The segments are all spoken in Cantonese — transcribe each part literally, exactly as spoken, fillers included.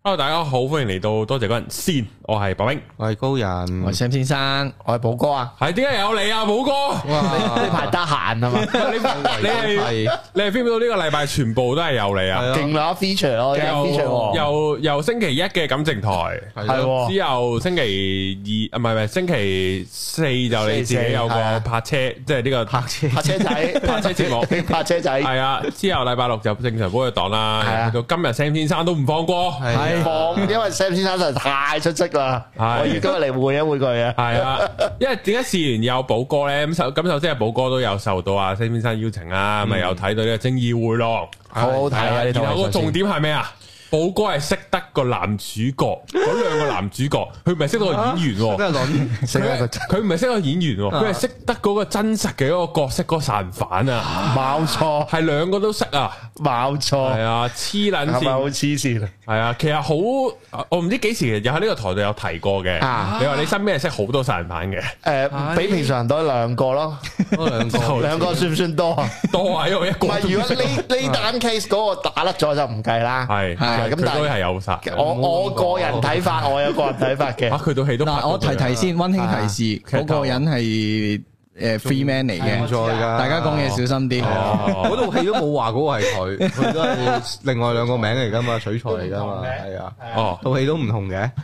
Hello， 大家好，歡迎嚟到多謝嗰人先，我係白兵， 我係高人， 我係 Sam 先生，我係寶哥啊。 係點解有你啊，寶哥？ 哇，呢排得閒啊嘛？ 你你係你係 feel 到呢個禮拜全部都係有你啊？ 勁啦 feature 咯 ，feature 由由星期一嘅感情台係，之後星期二啊唔係唔係星期四就你自己有個泊車，即係呢個泊車泊車仔泊車節目，泊車仔係啊。之後禮拜六就正常寶藥黨啦，到今日 Sam 先生都唔放過。放，因為 Sam 先生實在太出色啦，我要今日嚟換一換佢啊。係啊，因為點解事緣有寶哥咧？咁首咁首先係寶哥都有受到阿 Sam 先生邀請啦，咪有睇到呢個《正義迴廊》，好好睇啊！然後個重點係咩啊？寶哥係識得個男主角，嗰兩個男主角，佢唔係識到個演員，佢佢唔係識個演員，佢係識得嗰個真實嘅嗰個角色嗰個殺人犯啊！冇錯，係兩個都識啊！冇錯，係啊，黐撚線，係咪好黐線啊？係啊，其實好，我唔知幾時又喺呢個台度有提過嘅。你話你身邊係識好多殺人犯嘅？誒，比平常人多兩個咯，兩個，兩個算唔算多啊？多啊，因為一個。唔係，如果呢呢單 case 嗰個打甩咗就唔計啦。係係。咁但係有殺，我我個人睇法，我有個人睇法嘅。啊，佢套戲都嗱，我提提先，溫馨提示，嗰個人係誒 free man 嚟嘅，大家講嘢小心啲。 嗰套戲都冇話嗰個係佢，佢都係另外兩個名嚟噶嘛，取材嚟噶嘛，係啊。哦，套戲都唔同嘅。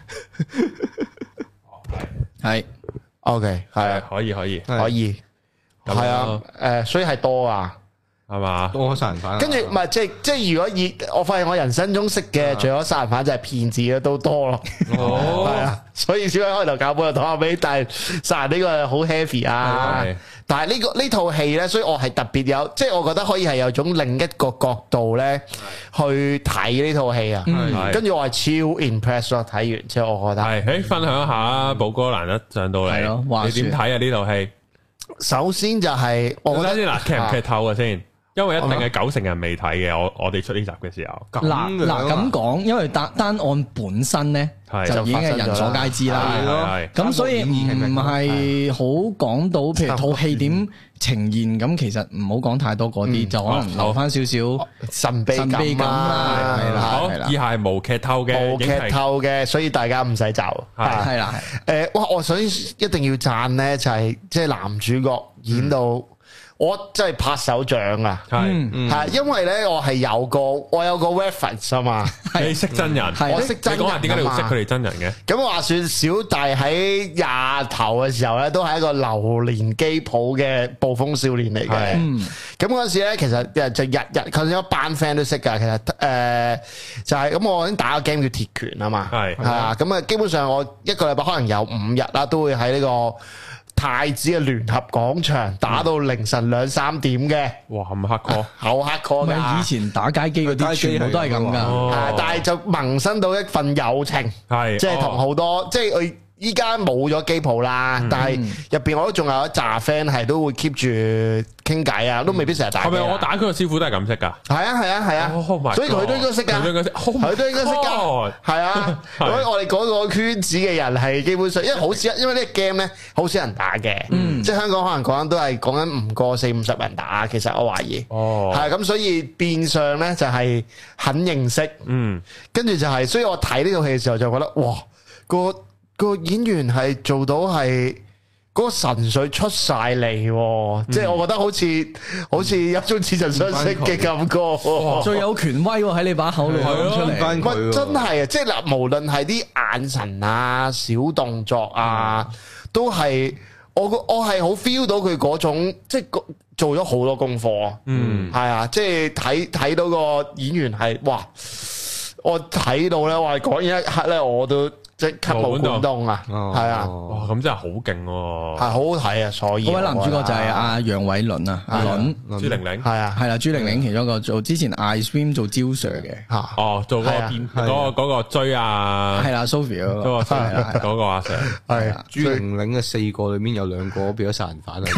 係 ，OK，係可以，可以， 可以，係啊，誒，所以係多啊。 係嘛？ 多殺人犯， 跟住唔係即係即係，如果以我發現我人生中識嘅，除咗殺人犯就係騙子嘅都多咯。哦，係啊，所以小偉開頭搞本又講下俾，但係殺人呢個好 heavy 啊。但係呢個呢套戲咧，所以我係特別有，即係我覺得可以係有種另一個角度咧去睇呢套戲啊。跟住我係超 impressed 咯，睇完之後我覺得係，誒，分享下寶哥難得上到嚟，你點睇啊呢套戲？ 首先就係我覺得先嗱，劇唔劇透嘅先。因為一定係九成人未睇嘅，我我哋出呢集嘅時候。 嗱嗱咁講，因為單單案本身咧就已經係人所皆知啦。咁所以唔係好講到，譬如套戲點呈現咁，其實唔好講太多嗰啲，就可能留翻少少神秘神秘感啦。係啦， 好，以下係無劇透嘅， 無劇透嘅，所以大家唔使就係係啦。誒，哇！我首先一定要讚咧，就係即係男主角演到。我真係拍手掌啊！係，係，因為咧我係有個我有個 reference 啊嘛。 你識真人， 我識真人。 你講下點解你會識佢哋真人嘅？ 咁話說小弟喺廿頭嘅時候咧，都係一個榴蓮機鋪嘅暴風少年嚟嘅。咁嗰陣時咧，其實就日日佢有一班 friend 都識㗎。其實誒就係咁，我已經打個 game 叫鐵拳啊嘛。係係啊，咁啊基本上我一個禮拜可能有五日啦，都會喺呢個太子嘅聯合廣場打到凌晨兩三點嘅。哇，咁黑 call，好黑 call 噶。 以前打街機嗰啲全部都係咁噶， 但係就萌生到一份友情，係即係同好多，即係佢依家冇咗機鋪啦，但係入邊我都仲有一紮 friend 係都會 keep 住傾偈啊，都未必成日打。 係咪我打佢個師傅都係咁識噶？係啊係啊係啊，所以佢都應該識噶，佢都應該識噶，係啊。所以我哋嗰個圈子嘅人係基本上，因為好少，因為呢個 game 咧好少人打嘅，即係香港可能講緊都係講緊唔過四五十人打，其實我懷疑。哦，係咁，所以變相咧就係很認識，嗯，跟住就係，所以我睇呢套戲嘅時候就覺得，哇，個個演員係做到係嗰個神髓出晒嚟，即係我覺得好似好似有種似曾相識嘅感覺， 最有權威喺你把口度講出嚟。 喂，真係啊！即係嗱，無論係啲眼神啊、小動作啊，都係我我係好 feel 到佢嗰種，即係做咗好多功課。嗯，係啊，即係睇睇到個演員係哇，我睇到咧，話講一刻咧，我都。即刻冇感動啊，係啊， 哇，咁真係好勁喎， 係好好睇啊，所以嗰位男主角就係阿楊偉倫啊，阿倫朱玲玲， 係啊， 係啦，朱玲玲其中一個做之前 I Swim 做招 Sir 嘅， 嚇，哦，做嗰個邊嗰個嗰個追啊， 係啦 Sophia 嗰個， 嗰個阿 Sir， 係朱玲玲嘅四個裏面有兩個變咗殺人犯啊，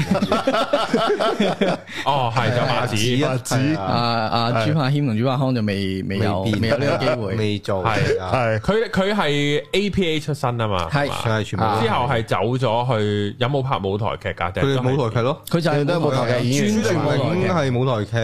哦，係就馬子， 馬子， 阿阿朱柏謙同朱柏康就未未有未有呢個機會， 未做， 係係， 佢佢係 A P A 出身啊嘛， 係係全部之後係走咗去，有冇拍舞台劇噶？ 佢舞台劇咯， 佢就係都係舞台劇演員， 朱玲玲係舞台劇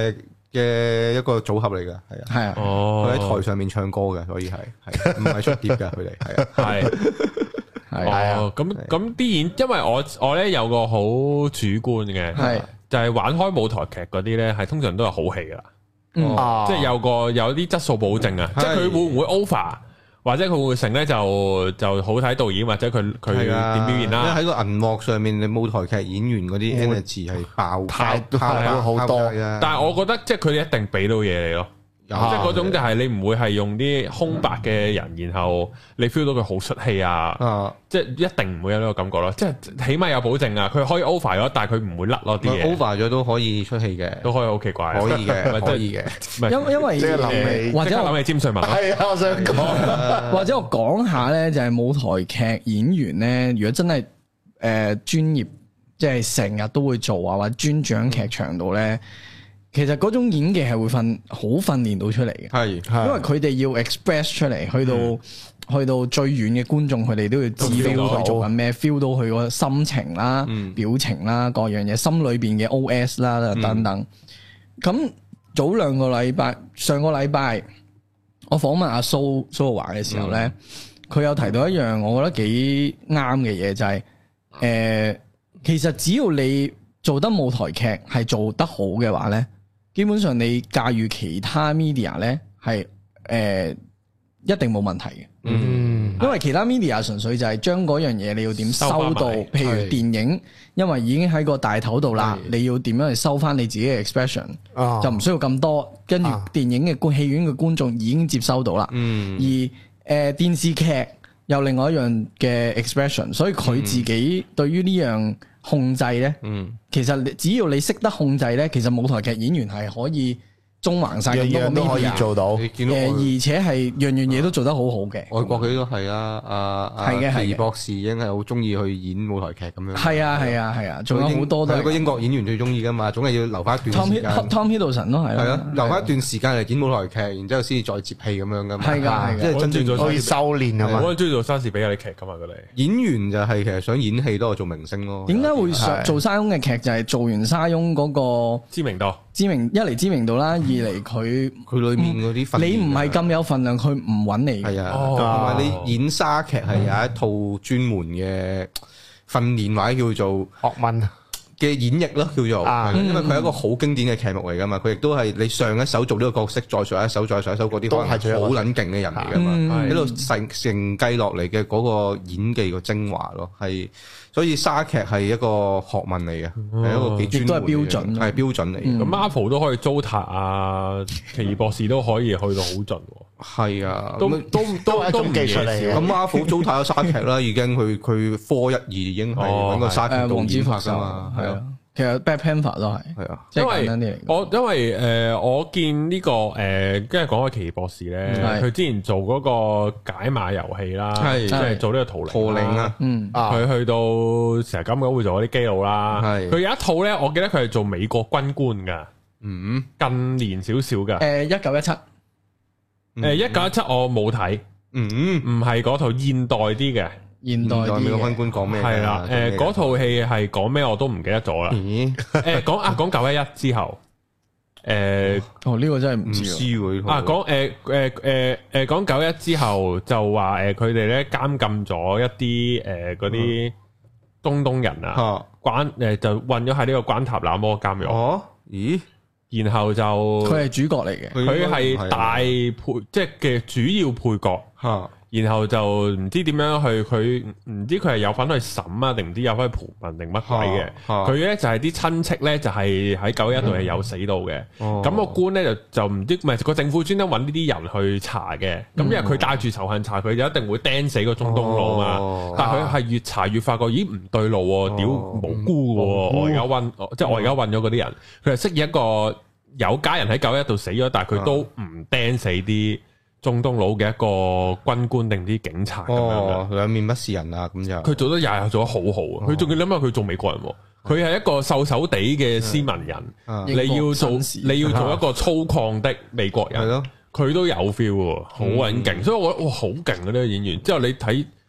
嘅一個組合嚟㗎，係啊， 係啊， 佢喺台上面唱歌嘅，所以係係唔係出碟㗎，佢哋係啊， 係係啊，咁咁啲演，因為我我咧有個好主觀嘅，係就係玩開舞台劇嗰啲咧，係通常都係好戲㗎啦，即係有個有啲質素保證啊，即係佢會唔會 over？或者佢會唔會成咧就就好睇導演或者佢佢點表現啦。 喺個銀幕上面，你舞台劇演員嗰啲 energy 係爆太爆好多。 但係我覺得即係佢哋一定俾到嘢你咯。即係嗰種就係你唔會係用啲空白嘅人，然後你 feel 到佢好出戲啊！即係一定唔會有呢個感覺咯。即係起碼有保證啊！佢可以 over 咗，但係佢唔會甩咯啲嘢。 over 咗都可以出戲嘅， 都可以好奇怪。 可以嘅，可以嘅。 因因為即係諗起， 或者諗起詹瑞文。 係啊，我想講。 或者我講下咧，就係舞台劇演員咧，如果真係誒專業，即係成日都會做啊，或者專注喺劇場度咧。其實嗰種演技係會訓好訓練到出嚟嘅，係，因為佢哋要 express 出嚟，去到、嗯、去到最遠嘅觀眾，佢哋都要知道佢做緊咩 ，feel 到佢個心情啦、嗯、表情啦、各樣嘢，心裏邊嘅 O S 啦等等。咁、嗯、早兩個禮拜，上個禮拜我訪問阿蘇蘇華嘅時候咧，佢、嗯、有提到一樣我覺得幾啱嘅嘢，就係、是、誒、呃，其實只要你做得舞台劇係做得好嘅話咧。基本上你駕馭其他 media 咧係誒一定冇問題嘅，嗯，因為其他 media 純粹就係將嗰樣嘢你要點收到，譬如電影，因為已經喺個大頭度啦，你要點樣去收翻你自己嘅 expression，哦、就唔需要咁多，跟住電影嘅觀戲院嘅觀眾已經接收到啦，嗯，而誒、呃、電視劇有另外一樣嘅 expression， 所以佢自己對於呢樣控制咧，嗯，其實只要你識得控制咧，其實舞台劇演員係可以縱橫晒咁多個 media，樣樣都可以做到。誒，而且係樣樣嘢都做得好好嘅。外國佢都係啊，阿係嘅，奇異博士已經係好中意去演舞台劇咁樣。係啊，係啊，係啊，仲有好多都係個英國演員最中意噶嘛，總係要留翻一段時間。Tom Tom Hiddleston 都係啦，係啊，留翻一段時間嚟演舞台劇，然之後先至再接戲咁樣噶嘛。係噶，即係真正可以修煉係嘛。我中意做莎士比亞啲劇噶嘛，佢哋演員就係其實想演戲多過做明星咯。點解會做沙翁嘅劇？就係做完沙翁嗰個知名度。知名一嚟知名度啦，二嚟佢佢裏面嗰啲分量，你唔係咁有份量，佢唔揾你。係啊，同埋你演沙劇係有一套專門嘅訓練或者叫做學問嘅演繹咯，叫做，因為佢係一個好經典嘅劇目嚟噶嘛，佢亦都係你上一手做呢個角色，再上一手，再上一手嗰啲，都係好撚勁嘅人嚟噶嘛，喺度承承繼落嚟嘅嗰個演技個精華咯，係。所以沙劇係一個學問嚟嘅，係、哦、一個幾專門嘅，亦都係標準，係標準嚟嘅。咁 Marvel 都可以糟蹋啊，奇異博士都可以去到好盡。係啊，都都都係一種技術嚟嘅。咁 Marvel 糟蹋咗沙劇啦，已經佢佢科一二已經係揾個沙劇導演拍㗎嘛，係啊。其實 Black Panther 都係，係啊，因為我因為誒、呃，我見呢、這個誒，跟住講開奇異博士咧，佢是之前做嗰個解碼遊戲啦，即係是做呢個圖靈，圖靈啊，嗯，佢去到成日咁樣會做嗰啲基佬啦，係，佢有一套咧，我記得佢係做美國軍官噶，嗯，近年少少噶，誒，一九一七，誒，一九一七我冇睇，嗯，唔係嗰套現代啲嘅。現代美國軍官講咩？係啦，誒，嗰套戲係講咩我都唔記得咗啦。誒，講啊，講九一一之後，誒，哦，呢個真係唔知喎。啊，講誒誒誒誒，講九一之後就話誒，佢哋咧監禁咗一啲誒嗰啲中東人啊，關誒就混咗喺呢個關塔那摩監獄。哦，咦？然後就佢係主角嚟嘅，佢係大配即係嘅主要配角。吓。然後就唔知點樣去，佢唔知佢係有份去審啊，定唔知有份去盤問定乜鬼嘅。佢咧就係啲親戚咧，就係喺九一度係有死到嘅。咁個官咧就就唔知，唔係個政府專登揾呢啲人去查嘅。咁因為佢帶住仇恨查，佢就一定會釘死個中東佬嘛。但係佢係越查越發覺，咦唔對路，屌無辜嘅。我而家揾，即係我而家揾咗嗰啲人，佢係飾演一個有家人喺九一度死咗，但係佢都唔釘死啲中東佬嘅一個軍官定啲警察咁樣嘅，兩面不是人啊！咁就佢做得又又做得好好啊！佢仲要諗下佢做美國人，佢係一個瘦瘦地嘅斯文人，你要做你要做一個粗獷的美國人，係咯，佢都有 feel，好穩勁，所以我覺得哇好勁啊呢個演員。之後你睇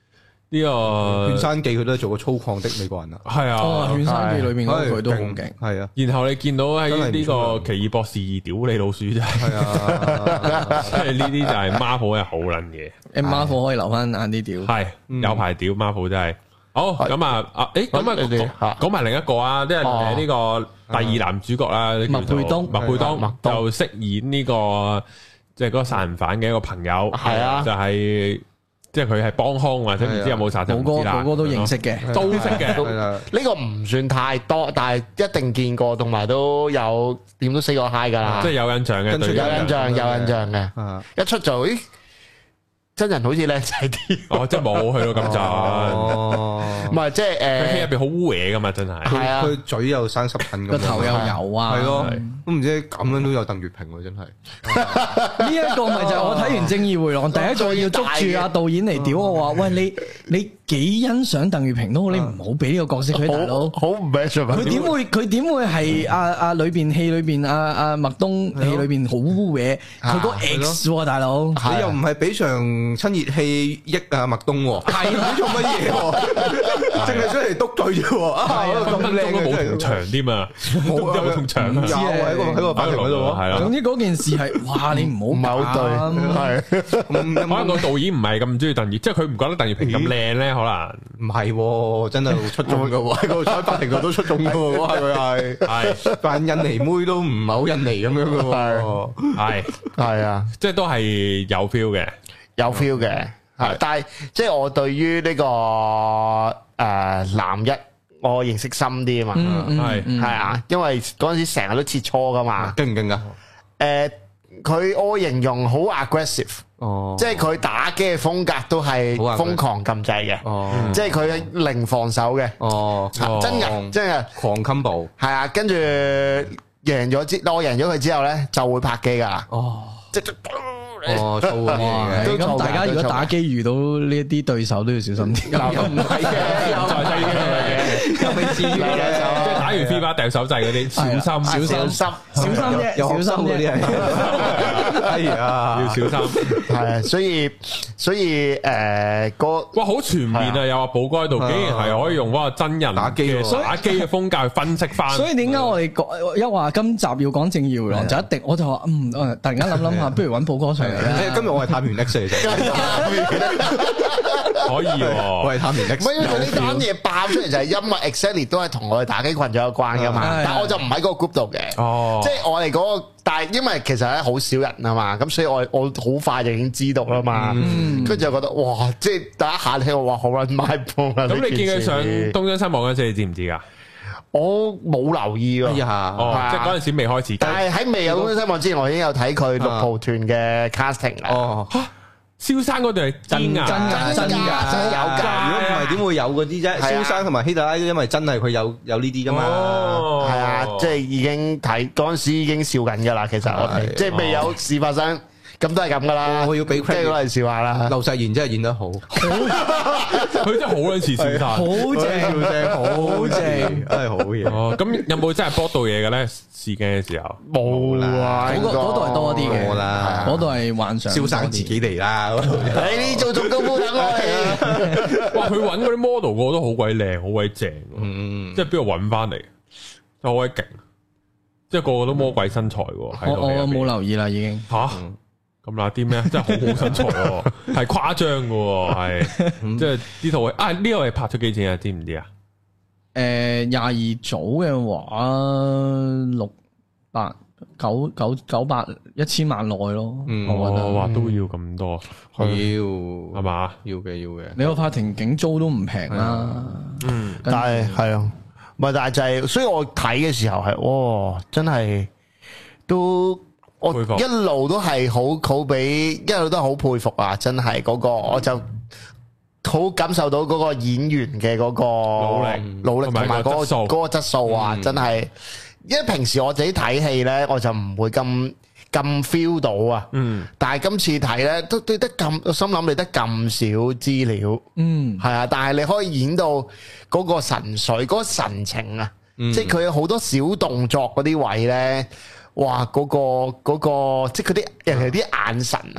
呢個 《犬山記》佢都係做個粗獷的美國人啊， 係啊， 《犬山記》裏面嗰個佢都好勁，係啊。 然後你見到喺呢個奇異博士屌你老鼠啫，係啊，即係呢啲就係 Marvel 係好撚嘅， 誒 Marvel 可以留翻晏啲屌， 係有排屌 Marvel 真係。好咁啊啊，誒咁啊講埋另一個啊，即係誒呢個第二男主角啦， 麥沛東， 麥沛東就飾演呢個即係嗰個殺人犯嘅一個朋友，係啊，就係。即係佢係幫兇或者唔知有冇殺人， 個個個個都認識嘅， 都識嘅。 呢個唔算太多，但係一定見過，同埋都有點都 say 過 hi 噶啦。 即係有印象嘅， 有印象，有印象嘅。一出就咦，真人好似靚仔啲。 哦，即係冇去到咁盡。 哦，唔係即係誒， 佢戲入邊好污嘢噶嘛，真係。 係啊， 佢嘴又生濕疹， 個頭又油啊。 係咯，都唔知咁樣都有鄧月平喎，真係。 呢一個咪就係我睇完《正義迴廊》第一個要捉住阿導演嚟屌我話，喂，你你幾欣賞鄧月平都好，你唔好俾呢個角色佢大佬。 好唔 match 啊！ 佢點會佢點會係阿阿裏邊戲裏邊阿阿麥東戲裏邊好污嘢？佢個 X 喎，大佬。 你又唔係俾場親熱戲益啊麥東喎？係你做乜嘢？淨係出嚟篤佢啫喎！啊，咁靚都冇同場添啊！冇有同場有喺個喺個法庭嗰度係啦。 總之嗰件事係哇，你唔好唔係好對，係可能個導演唔係咁中意鄧月，即係佢唔覺得鄧月平咁靚咧，可能唔係，真係出眾噶喎，喺個喺法庭度都出眾噶喎，佢係係扮印尼妹都唔係好印尼咁樣噶喎， 係係啊， 即係都係有 feel 嘅， 有 feel 嘅，係，但係即係我對於呢個誒男一。我認識深啲啊嘛，係係啊，因為嗰陣時成日都切磋噶嘛， 勁唔勁噶？ 誒，佢我形容好 aggressive，哦，即係佢打機嘅風格都係瘋狂撳掣嘅，哦，即係佢零防守嘅，哦，真嘅，真嘅， 狂 combo， 係啊，跟住贏咗之，我贏咗佢之後咧就會拍機噶啦，哦，即係。 哦，粗嗰啲嘅， 咁大家如果打機遇到呢一啲對手都要小心啲。 又唔係嘅，又在低嘅，又未至於嘅。 即係打完 FIFA 掉手掣嗰啲，小心小心小心小心啫，小心嗰啲係。 哎呀， 要小心。 係，所以所以誒個哇好全面啊！有阿寶哥喺度，竟然係可以用嗰個真人打機打機嘅風格去分析翻。 所以點解我哋講一話今集要講正義迴廊就一定，我就話嗯，突然間諗諗下，不如揾寶哥上。 今日我係探員 X 嚟嘅， 可以喎， 我係探員 X。 唔係因為佢呢單嘢爆出嚟就係因為 exactly 都係同我哋打機群組有關噶嘛，但係我就唔喺嗰個 group 度嘅，哦，即係我哋嗰個，但係因為其實咧好少人啊嘛，咁所以我我好快就已經知道啦嘛，跟住就覺得哇，即係第一下聽我話好撚賣波啊！ 咁你見佢上東張西望嗰陣時，你知唔知噶？ 我冇留意喎， 即係嗰陣時未開始。 但係喺未有東張西望之前，我已經有睇佢六號團嘅 casting 啦。 哦，蕭生嗰對係真㗎， 真㗎，真㗎， 真有㗎。 如果唔係點會有嗰啲啫？蕭生同埋希特拉，因為真係佢有有呢啲㗎嘛。 係啊，即係已經睇嗰陣時已經笑緊㗎啦。其實我哋即係未有事發生。咁都係咁噶啦，我要俾 credit 攞嚟笑下啦。 劉世賢真係演得好， 佢真係好撚似蕭生， 好正，好正， 真係好嘢。 哦，咁有冇真係搏到嘢嘅咧？試鏡嘅時候冇啊， 嗰個嗰度係多啲嘅啦， 嗰度係幻想。 蕭生自己嚟啦， 你做做功夫等我嚟。 哇！佢揾嗰啲 model 個都好鬼靚，好鬼正，嗯，即係邊度揾翻嚟？真係好鬼勁，即係個個都魔鬼身材喎。 我我冇留意啦，已經吓。咁嗱啲咩？真係好好身材喎，係誇張嘅，係即係呢套啊呢個係拍咗幾錢啊？知唔知啊？ 誒，廿二組嘅話，六百九九九百一千萬內咯。我覺得話都要咁多， 要係嘛？ 要嘅要嘅。 你個法庭景租都唔平啦。 嗯，但係係啊，唔係但係就係，所以我睇嘅時候係，哇，真係都。我一路都係好好俾，一路都係好佩服啊！真係嗰個，我就好感受到嗰個演員嘅嗰個努力、努力同埋嗰個嗰個質素啊！真係，因為平時我自己睇戲咧，我就唔會咁咁 feel 到啊。嗯，但係今次睇咧，都對得咁，我心諗你得咁少資料，嗯，係啊，但係你可以演到嗰個神髓、嗰個神情啊，即係佢有好多小動作嗰啲位咧。哇！嗰、嗰個嗰、嗰個即係嗰啲人哋啲眼神啊，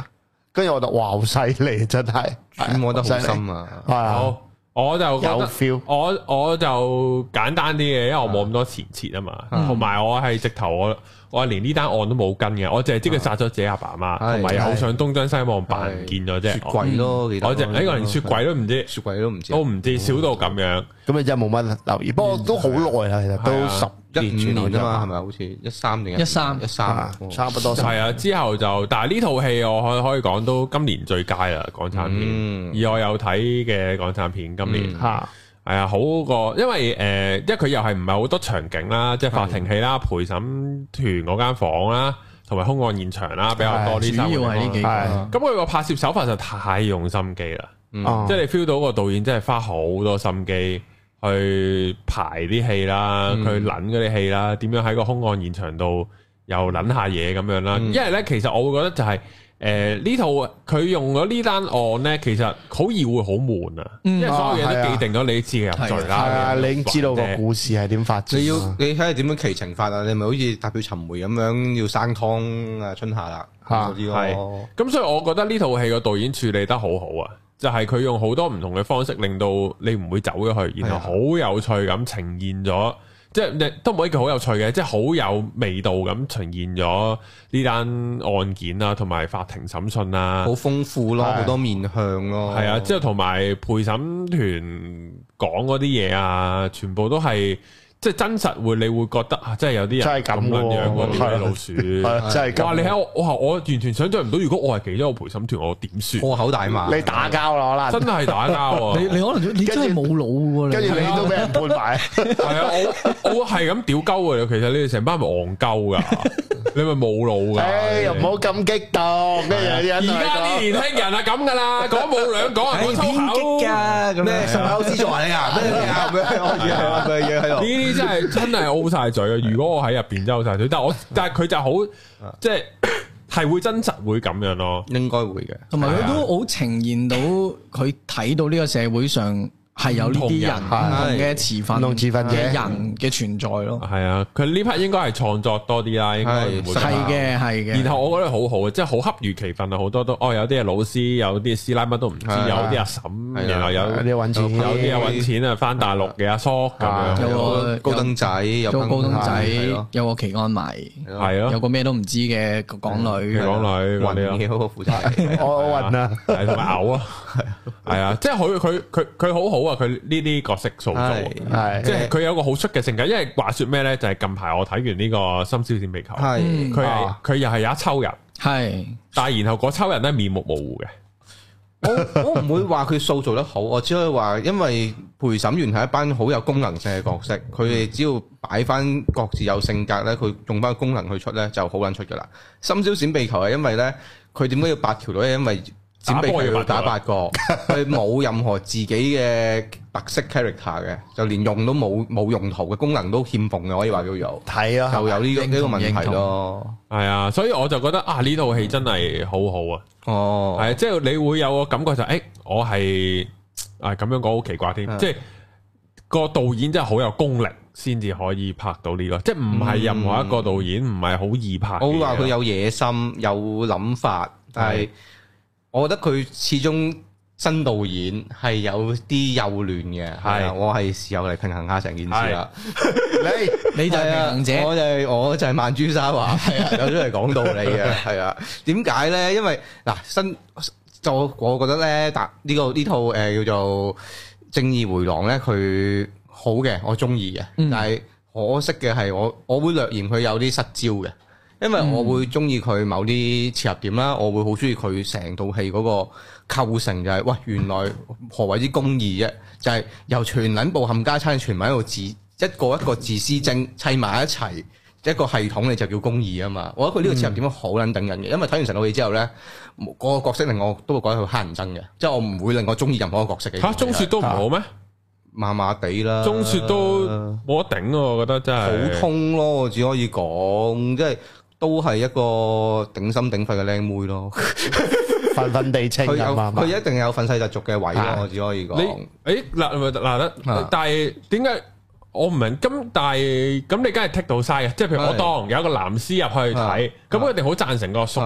跟住我就哇好犀利，真係揣摩得好深啊！ 好，我就覺得有 feel， 我我就簡單啲嘅，因為我冇咁多前設啊嘛，同埋我係直頭我。我連呢單案都冇跟嘅，我淨係知佢殺咗自己阿爸阿媽，同埋有上東張西望扮唔見咗啫。雪櫃咯，我淨誒我連雪櫃都唔知， 雪櫃都唔知， 都唔知少到咁樣。 咁你真係冇乜留意，不過都好耐啦，其實都十一五年啊嘛，係咪好似一三年？ 一三一三， 差不多。 係啊，之後就但係呢套戲我可可以講都今年最佳啦，港產片。而我有睇嘅港產片今年嚇。係啊，好過，因為誒、呃，因為佢又係唔係好多場景啦，即係法庭戲啦、陪審團嗰間房啦，同埋兇案現場啦，比較多呢三個。主要係呢幾個。咁佢個拍攝手法就太用心機啦，嗯、即係你 feel 到個導演真係花好多心機去排啲戲啦，佢捻嗰啲戲啦，點樣喺個兇案現場度又捻下嘢咁樣啦。嗯、因為咧，其實我會覺得就係、是。誒，呢套佢用咗呢單案咧，其實好易會好悶啊，因為所有嘢都既定咗，你知嘅入罪啦。係啊， 你已經知道個故事係點發展。 你要你睇下點樣奇情法啊？你咪好似踏血尋梅咁樣要生湯啊春夏啦嗰啲咯。 咁所以我覺得呢套戲個導演處理得好好啊，就係佢用好多唔同嘅方式，令到你唔會走咗去，然後好有趣咁呈現咗。即係都唔可以叫好有趣嘅，即係好有味道咁呈現咗呢單案件啊，同埋法庭審訊啊， 好豐富咯，好的多面向咯， 係啊，之後同埋陪審團講嗰啲嘢啊，全部都係。即係真實會，你會覺得啊，真係有啲人咁樣樣喎，啲老鼠， 真係。 哇！你喺我，我我完全想象唔到，如果我係其中一個陪審團，我點算？ 破口大罵， 你打交啦，可能真係打交。 你你可能你真係冇腦喎， 跟住你都俾人判埋。 係啊，我我係咁屌鳩嘅，其實你哋成班係咪戇鳩噶？你咪冇腦噶？ 誒，又唔好咁激動。咩嘢？ 而家啲年輕人係咁噶啦，講冇兩講係講粗口噶。 咩？十口之座你啊？咩啊？咩嘢？咩嘢喺度？ 真係真係 O 晒嘴啊！如果我喺入邊真係 O 晒嘴，但係我但係佢就好即係係會真實會咁樣咯， 應該會嘅。 同埋佢都好呈現到佢睇到呢個社會上係有呢啲人唔同嘅持份、唔同持份嘅人嘅存在咯。 係啊，佢呢 part 應該係創作多啲啦，應該唔會係嘅，係嘅。 然後我覺得好好嘅，即係好恰如其分啊！好多都哦，有啲係老師，有啲師奶乜都唔知，有啲阿嬸，然後有啲揾錢， 有啲啊揾錢啊，翻大陸嘅阿叔咁樣， 有個高登仔，有個高登仔，有個奇案迷， 係咯， 有個咩都唔知嘅港女， 港女混嘅嗰個負責人， 我混啊， 係同埋嘔啊，係啊，即係佢佢佢佢好好啊！佢呢啲角色塑造，係即係佢有個好出嘅性格。因為話說咩咧，就係近排我睇完呢個《深宵閃避球》，係佢係佢又係有一抽人，係，但係然後嗰抽人咧面目模糊嘅。 我我唔會話佢塑造得好，我只可以話，因為陪審員係一班好有功能性嘅角色，佢哋只要擺翻各自有性格咧，佢用翻個功能去出咧，就好撚出噶啦。深宵閃避球係因為咧，佢點解要八條女？因為閃避球要打八個，佢冇任何自己嘅特色 character 嘅，就連用都冇，冇用途嘅功能都欠奉嘅，可以話叫做係啊， 就有呢個呢個問題咯。 係啊，所以我就覺得啊，呢套戲真係好好啊。哦，係啊，即係你會有個感覺就誒、欸，我係啊咁樣講好奇怪添，的即係個導演真係好有功力先至可以拍到呢、這個，即係唔係任何一個導演唔係好易拍。 我會話佢有野心，有諗法，但係。我覺得佢始終新導演係有啲幼嫩嘅，係啊，我係時候嚟平衡下成件事啦。 你你就係平衡者， 我就係我就係曼珠沙華，係啊，有咗嚟講道理嘅，係啊。點解咧？因為嗱新就我覺得咧，但呢個呢套誒叫做《正義回廊》咧，佢好嘅，我中意嘅，但係可惜嘅係我我會略嫌佢有啲失焦嘅。因為我會中意佢某啲切入點啦，我會好中意佢成套戲嗰個構成就係、是，喂，原來何謂之公義啫？就係、是、由全撚部冚家鏟全部喺度自一個一個自私精砌埋一齊一個系統，你就叫公義啊嘛！我覺得佢呢個切入點好撚等人嘅，因為睇完成套戲之後咧，嗰、那個角色令我都會覺得佢乞人憎嘅，即係我唔會令我中意任何一個角色嘅。嚇，鐘雪都唔好咩？麻麻地啦，鐘雪都冇得頂咯，我覺得真係普通咯，我只可以講即係。都係一個頂心頂肺嘅靚妹咯， 瞓瞓地清啊嘛， 佢一定有憤世嫉俗嘅位咯，我只可以講。 你誒嗱嗱得，但係點解我唔明？咁但係咁你梗係剔到晒嘅，即係譬如我當有一個藍絲入去睇，咁佢一定好贊成個叔噶。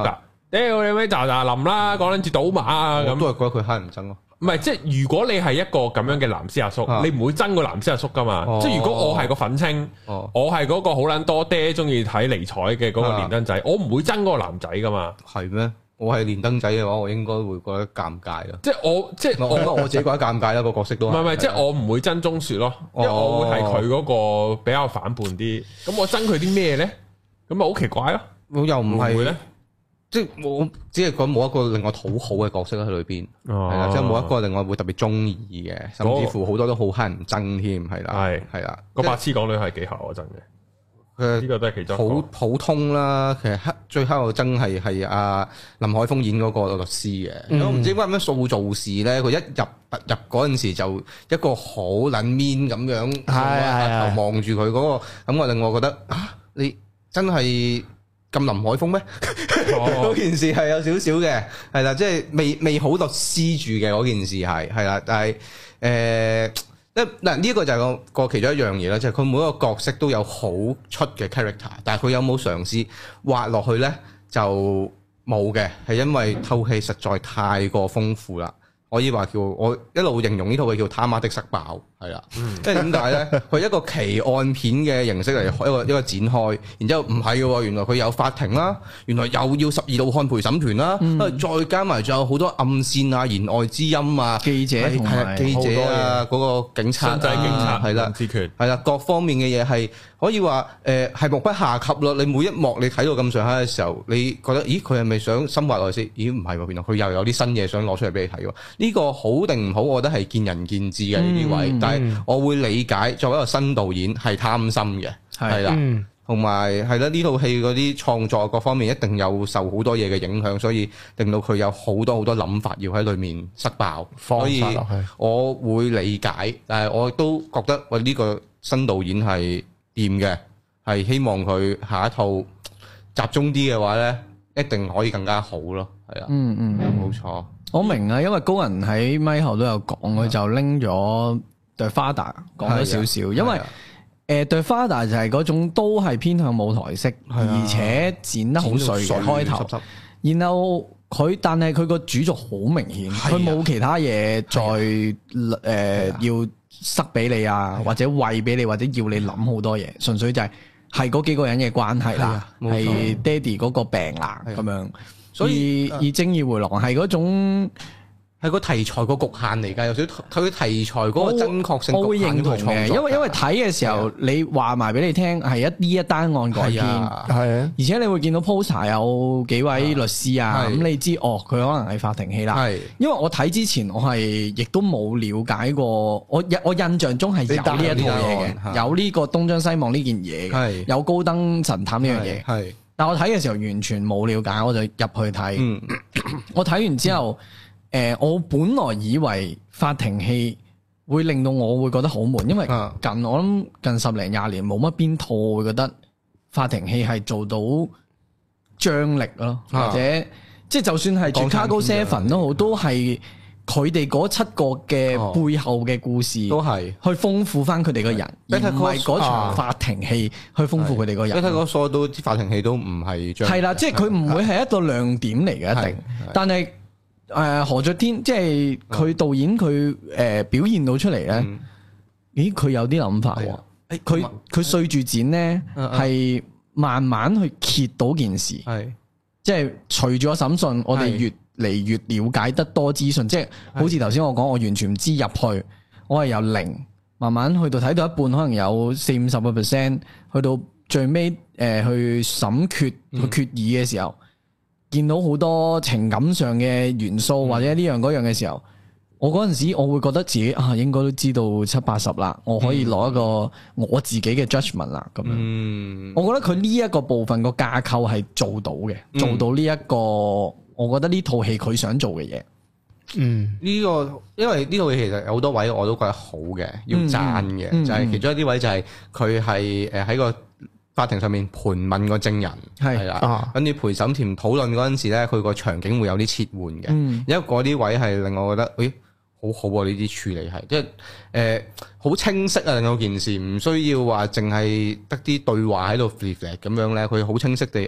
屌你咪喳喳林啦，講緊住賭馬啊咁， 都係覺得佢乞人憎咯。 唔係，即係如果你係一個咁樣嘅藍絲阿叔，啊、你唔會憎個藍絲阿叔噶嘛？哦、即係如果我係個粉青，哦、我係嗰個好撚多爹中意睇尼采嘅嗰個連登仔，啊、我唔會憎嗰個男仔噶嘛？係咩？我係連登仔嘅話，我應該會覺得尷尬咯。 即係我即係我我自己覺得尷尬啦，個角色都唔係唔係，即係我唔會憎鍾雪咯，因為我會係佢嗰個比較反叛啲。咁我憎佢啲咩咧？咁咪好奇怪咯。 我又唔係咧。即係我只係講冇一個令我討好嘅角色喺裏邊，係啦、哦，即係冇一個令我會特別中意嘅，甚至乎好多都好乞人憎添，係啦，係係啦。個白痴港女係幾乞我憎嘅，佢呢個都係其中普普通啦。其實黑最乞我憎係係阿林海峰演嗰個律師嘅，嗯、我唔知點解咁樣塑造事咧。佢一入入嗰陣時就一個好撚 mean 咁樣，係望住佢嗰個，咁我令我覺得啊，你真係咁林海峰咩？嗰、哦、件事係有少少嘅，係啦，即係未未好律師住嘅嗰件事係係啦，但係誒，嗱呢一個就係個個其中一樣嘢啦，就係、是、佢每一個角色都有好出嘅 character，但係佢有冇嘗試畫落去咧就冇嘅，係因為套戲實在太過豐富啦。可以話叫我一路形容呢套戲叫他媽的塞爆，係啦，即係點解咧？佢一個奇案片嘅形式嚟，一個一個展開，然之後唔係嘅，原來佢有法庭啦，原來又要十二道漢陪審團啦，嗯、再加埋仲有好多暗線啊、言外之音啊、 記者同埋記者啊、嗰個警察、 仔警察係啦，係啦，各方面嘅嘢係可以話誒係目不下級咯。你每一幕你睇到咁上下嘅時候，你覺得咦佢係咪想深挖落去先？咦唔係喎，原來佢又有啲新嘢想攞出嚟俾你睇喎。呢個好定唔好，我覺得係見仁見智嘅呢啲位，嗯、但係我會理解作為一個新導演係貪心嘅，係啦的，同埋係啦，呢套戲嗰啲創作各方面一定有受好多嘢嘅影響，所以令到佢有好多好多諗法要喺裏面塞爆，所以我會理解，但係我都覺得喂呢個新導演係掂嘅，係希望佢下一套集中啲嘅話咧，一定可以更加好咯，係啊， 嗯嗯， 冇錯。 我明啊，因為高人喺咪後都有講，佢就拎咗 The Father 講咗少少，因為誒 The Father 就係嗰種都係偏向舞台式，而且剪得好碎嘅開頭，然後佢但係佢個主軸好明顯，佢冇其他嘢再誒要塞俾你啊，或者餵俾你，或者要你諗好多嘢，純粹就係係嗰幾個人嘅關係啦，係爹哋嗰個病啦咁樣。所以而正義回廊係嗰種係個題材個局限嚟㗎，有少少佢題材嗰個真確性， 我會認同嘅，因為因為睇嘅時候你話埋俾你聽係一呢一單案改編，係啊，而且你會見到 poster 有幾位律師啊，咁你知哦，佢可能係法庭戲啦。係，因為我睇之前我係亦都冇了解過，我我印象中係有呢一套嘢嘅，有呢個東張西望呢件嘢嘅，有高登神探呢樣嘢。係。但我睇嘅時候完全冇了解，我就入去睇。嗯、我睇完之後，誒、嗯呃，我本來以為法庭戲會令到我會覺得好悶，因為近我諗近十零廿年冇乜邊套會覺得法庭戲係做到張力咯，或者、啊、即係就算係 Chicago Seven 都好，都係。佢哋嗰七個嘅背後嘅故事，哦、都係去豐富翻佢哋個人，而唔係嗰場法庭戲去豐富佢哋個人。你睇嗰所有啲法庭戲都唔係張係啦，即係佢唔會係一個亮點嚟嘅一定。但係誒、呃、何爵天即係佢導演佢誒、呃、表現到出嚟咧，嗯、咦佢有啲諗法喎？佢佢碎住剪咧係慢慢去揭到件事，係即係隨住個審訊，我哋越嚟越了解得多資訊，即係好似頭先我講，我完全唔知入去，我係由零慢慢去到睇到一半，可能有四五十個 percent，去到最尾誒、呃、去審決去決議嘅時候，嗯、見到好多情感上嘅元素或者呢樣嗰樣嘅時候，我嗰陣時我會覺得自己啊應該都知道七八十啦，我可以攞一個我自己嘅 judgment 啦咁樣。嗯、我覺得佢呢一個部分個架構係做到嘅，做到呢、這、一個。我覺得呢套戲佢想做嘅嘢，嗯，呢、這個因為呢套戲其實有好多位我都覺得好嘅，要讚嘅，嗯嗯、就係其中一啲位就係佢係誒喺個法庭上面盤問個證人，係啦，跟住陪審團討論嗰陣時咧，佢個場景會有啲切換嘅，嗯、因為嗰啲位係令我覺得，誒、哎，好好啊！呢啲處理係，即係誒好清晰啊！令到件事唔需要話淨係得啲對話喺度 flip 咁樣咧，佢好清晰地誒。哎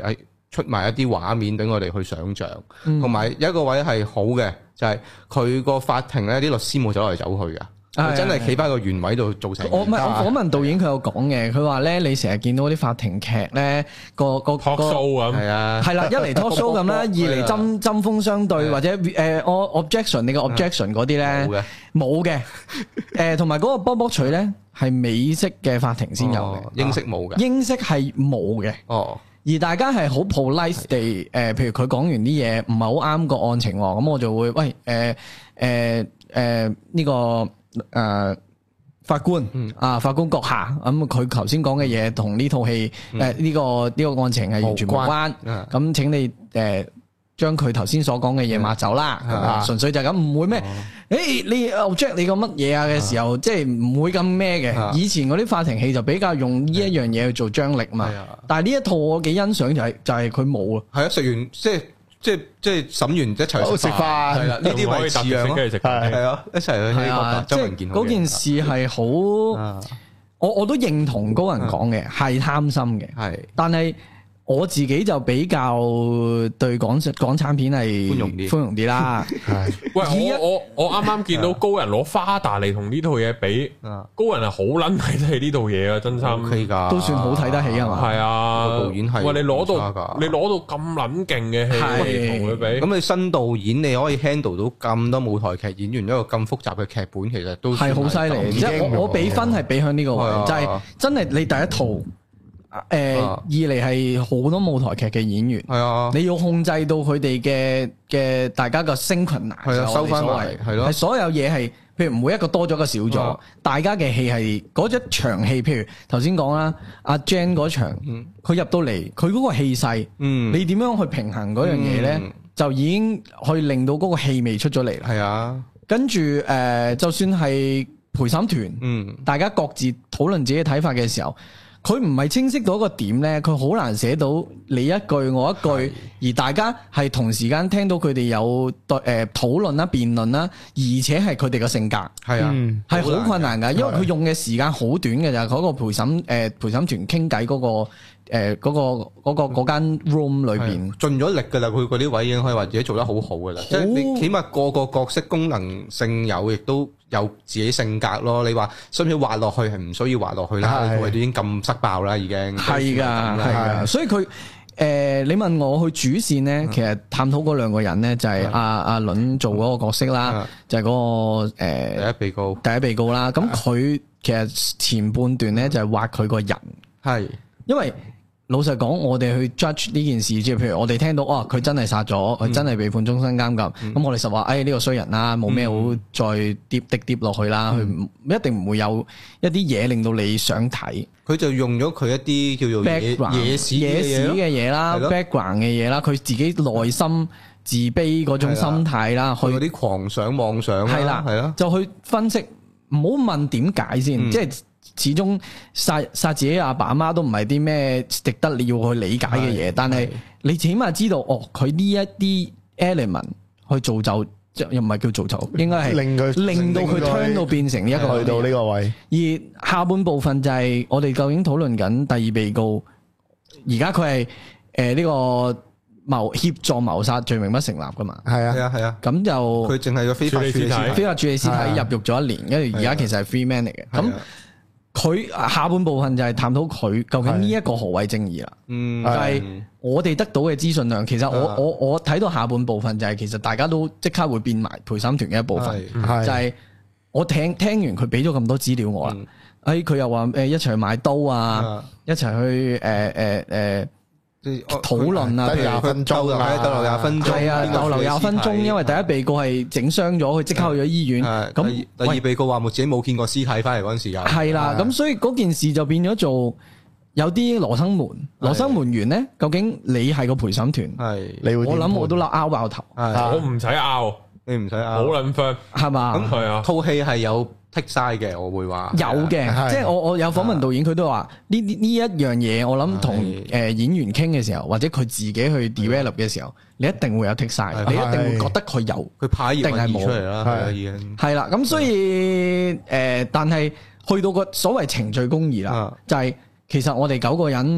出埋一啲畫面俾我哋去想像，同埋、嗯、有一個位係好嘅，就係佢個法庭咧啲律師冇走嚟走去㗎。佢真係企翻個原位度做成。我唔係我訪問導演，佢有講嘅。佢話咧，你成日見到啲法庭劇咧，個個 talk show 咁，係啊， 係啦，一嚟 talk show 咁啦，二嚟針針鋒相對，或者誒我 objection 你個 objection 嗰啲咧，冇嘅，冇嘅。誒同埋嗰個波波錘咧係美式嘅法庭先有嘅， 英式冇嘅， 英式係冇嘅。哦，而大家係好 polite 地誒，譬如佢講完啲嘢唔係好啱個案情喎，咁我就會喂誒誒誒呢個。誒、呃，法官、嗯、啊，法官閣下，咁佢頭先講嘅嘢同呢套戲誒呢個呢、這個案情係完全無關，咁、嗯、請你誒將佢頭先所講嘅嘢抹走啦，純、嗯、粹就係咁，唔會咩？誒、哦欸，你 object 你個乜嘢啊嘅時候，嗯、即係唔會咁咩嘅。以前嗰啲法庭戲就比較用呢一樣嘢去做張力嘛，嗯、但係呢一套我幾欣賞就係就係佢冇啊，係啊，食完即係。即係即係審完一齊食飯，係啦，呢啲位似樣咯，係啊，一齊去呢個周文健。嗰件事係好，我我都認同高人講嘅，係貪心嘅，係，但係。我自己就比較對港港產片係寬容啲，寬容啲啦。係， 喂，我我我啱啱見到高人攞花旦嚟同呢套嘢比，高人係好撚睇得起呢套嘢啊！真心 OK 㗎， 都算好睇得起係嘛？ 係啊， 導演係。 喂，你攞到你攞到咁撚勁嘅戲嚟同佢比， 咁你新導演你可以 handle 到咁多舞台劇演員一個咁複雜嘅劇本，其實都係好犀利。即係我我俾分係俾向呢個位，就係真係你第一套。誒，二嚟係好多舞台劇嘅演員，係啊，你要控制到佢哋嘅嘅大家個 synchronize，係啊，收翻嚟，係咯，係所有嘢係，譬如每一個多咗個少咗，大家嘅戲係嗰一場戲，譬如頭先講啦，阿 Jen 嗰場，佢入到嚟，佢嗰個氣勢，嗯，你點樣去平衡嗰樣嘢咧，就已經去令到嗰個氣味出咗嚟啦，係啊，跟住誒，就算係陪審團，嗯，大家各自討論自己嘅睇法嘅時候。佢唔係清晰到一個點咧，佢好難寫到你一句我一句，而大家係同時間聽到佢哋有對誒討論啦、辯論啦，而且係佢哋嘅性格係啊，係好困難㗎，因為佢用嘅時間好短嘅就係嗰個陪審誒陪審團傾偈嗰個誒嗰個嗰個嗰間 room 裏邊盡咗力㗎啦，佢嗰啲位已經可以話自己做得好好㗎啦，即係你起碼個個角色功能性有，亦都有自己性格咯。你話需唔需要畫落去係唔需要畫落去啦，佢都已經咁塞爆啦，已經係㗎係㗎，所以佢。誒、呃，你問我去主線咧，其實探討嗰兩個人咧，就係阿阿倫做嗰個角色啦，的就係嗰、那個誒、呃、 第一被告， 第一被告啦。咁佢其實前半段咧就係畫佢個人，係的因為老實講，我哋去 judge 呢件事，即係譬如我哋聽到哦，佢真係殺咗，佢、嗯、真係被判終身監禁，咁、嗯、我哋實話，誒呢個衰人啦，冇咩好再跌跌跌落去啦，佢、嗯、一定唔會有一啲嘢令到你想睇。 佢就用咗佢一啲叫做野史野史嘅嘢啦 ，background 嘅嘢啦，佢自己內心自卑嗰種心態啦， 去嗰啲狂想妄想啦，係啦，係咯， 就去分析，唔好問點解先，即係、嗯、始終殺殺自己阿爸阿媽都唔係啲咩值得你要去理解嘅嘢，但係你起碼知道，哦，佢呢一啲 element 去造就。又唔係叫做醜，應該係令佢令到佢 turn 到變成一個去到呢個位。 而下半部分就係我哋究竟討論緊第二被告，而家佢係誒呢個謀協助謀殺罪名不成立噶嘛？ 係啊係啊係啊。咁就佢淨係個非法處理屍體， 非法處理屍體入獄咗一年，跟住而家其實係 free man 嚟嘅。咁佢下半部分就係探討佢究竟呢一個何謂正義啦。嗯，就係我哋得到嘅資訊量，其實我我我睇到下半部分就係其實大家都即刻會變埋陪審團嘅一部分，就係我聽聽完佢俾咗咁多資料我啦，誒佢又話誒一齊去買刀啊，一齊去誒誒誒討論啊，譬如廿分鐘啊，逗留廿分鐘， 係啊，逗留廿分鐘，因為第一被告係整傷咗，佢即刻去咗醫院。咁第二被告話冇自己冇見過屍體翻嚟嗰陣時有。 係啦，咁所以嗰件事就變咗做有啲羅生門，羅生門員咧，究竟你係個陪審團？係，你會我諗我都拗拗爆頭。 我唔使拗， 你唔使拗， 好撚 friend 係嘛？ 咁係啊，套戲係有。剔晒嘅，我會話有嘅，即係我我有訪問導演，佢都話呢呢呢一樣嘢，我諗同誒演員傾嘅時候，或者佢自己去 develop 嘅時候，你一定會有剔晒，你一定會覺得佢有， 佢派一定係冇出嚟啦，係已經係啦。咁所以誒，但係去到個所謂程序公義啦，就係其實我哋九個人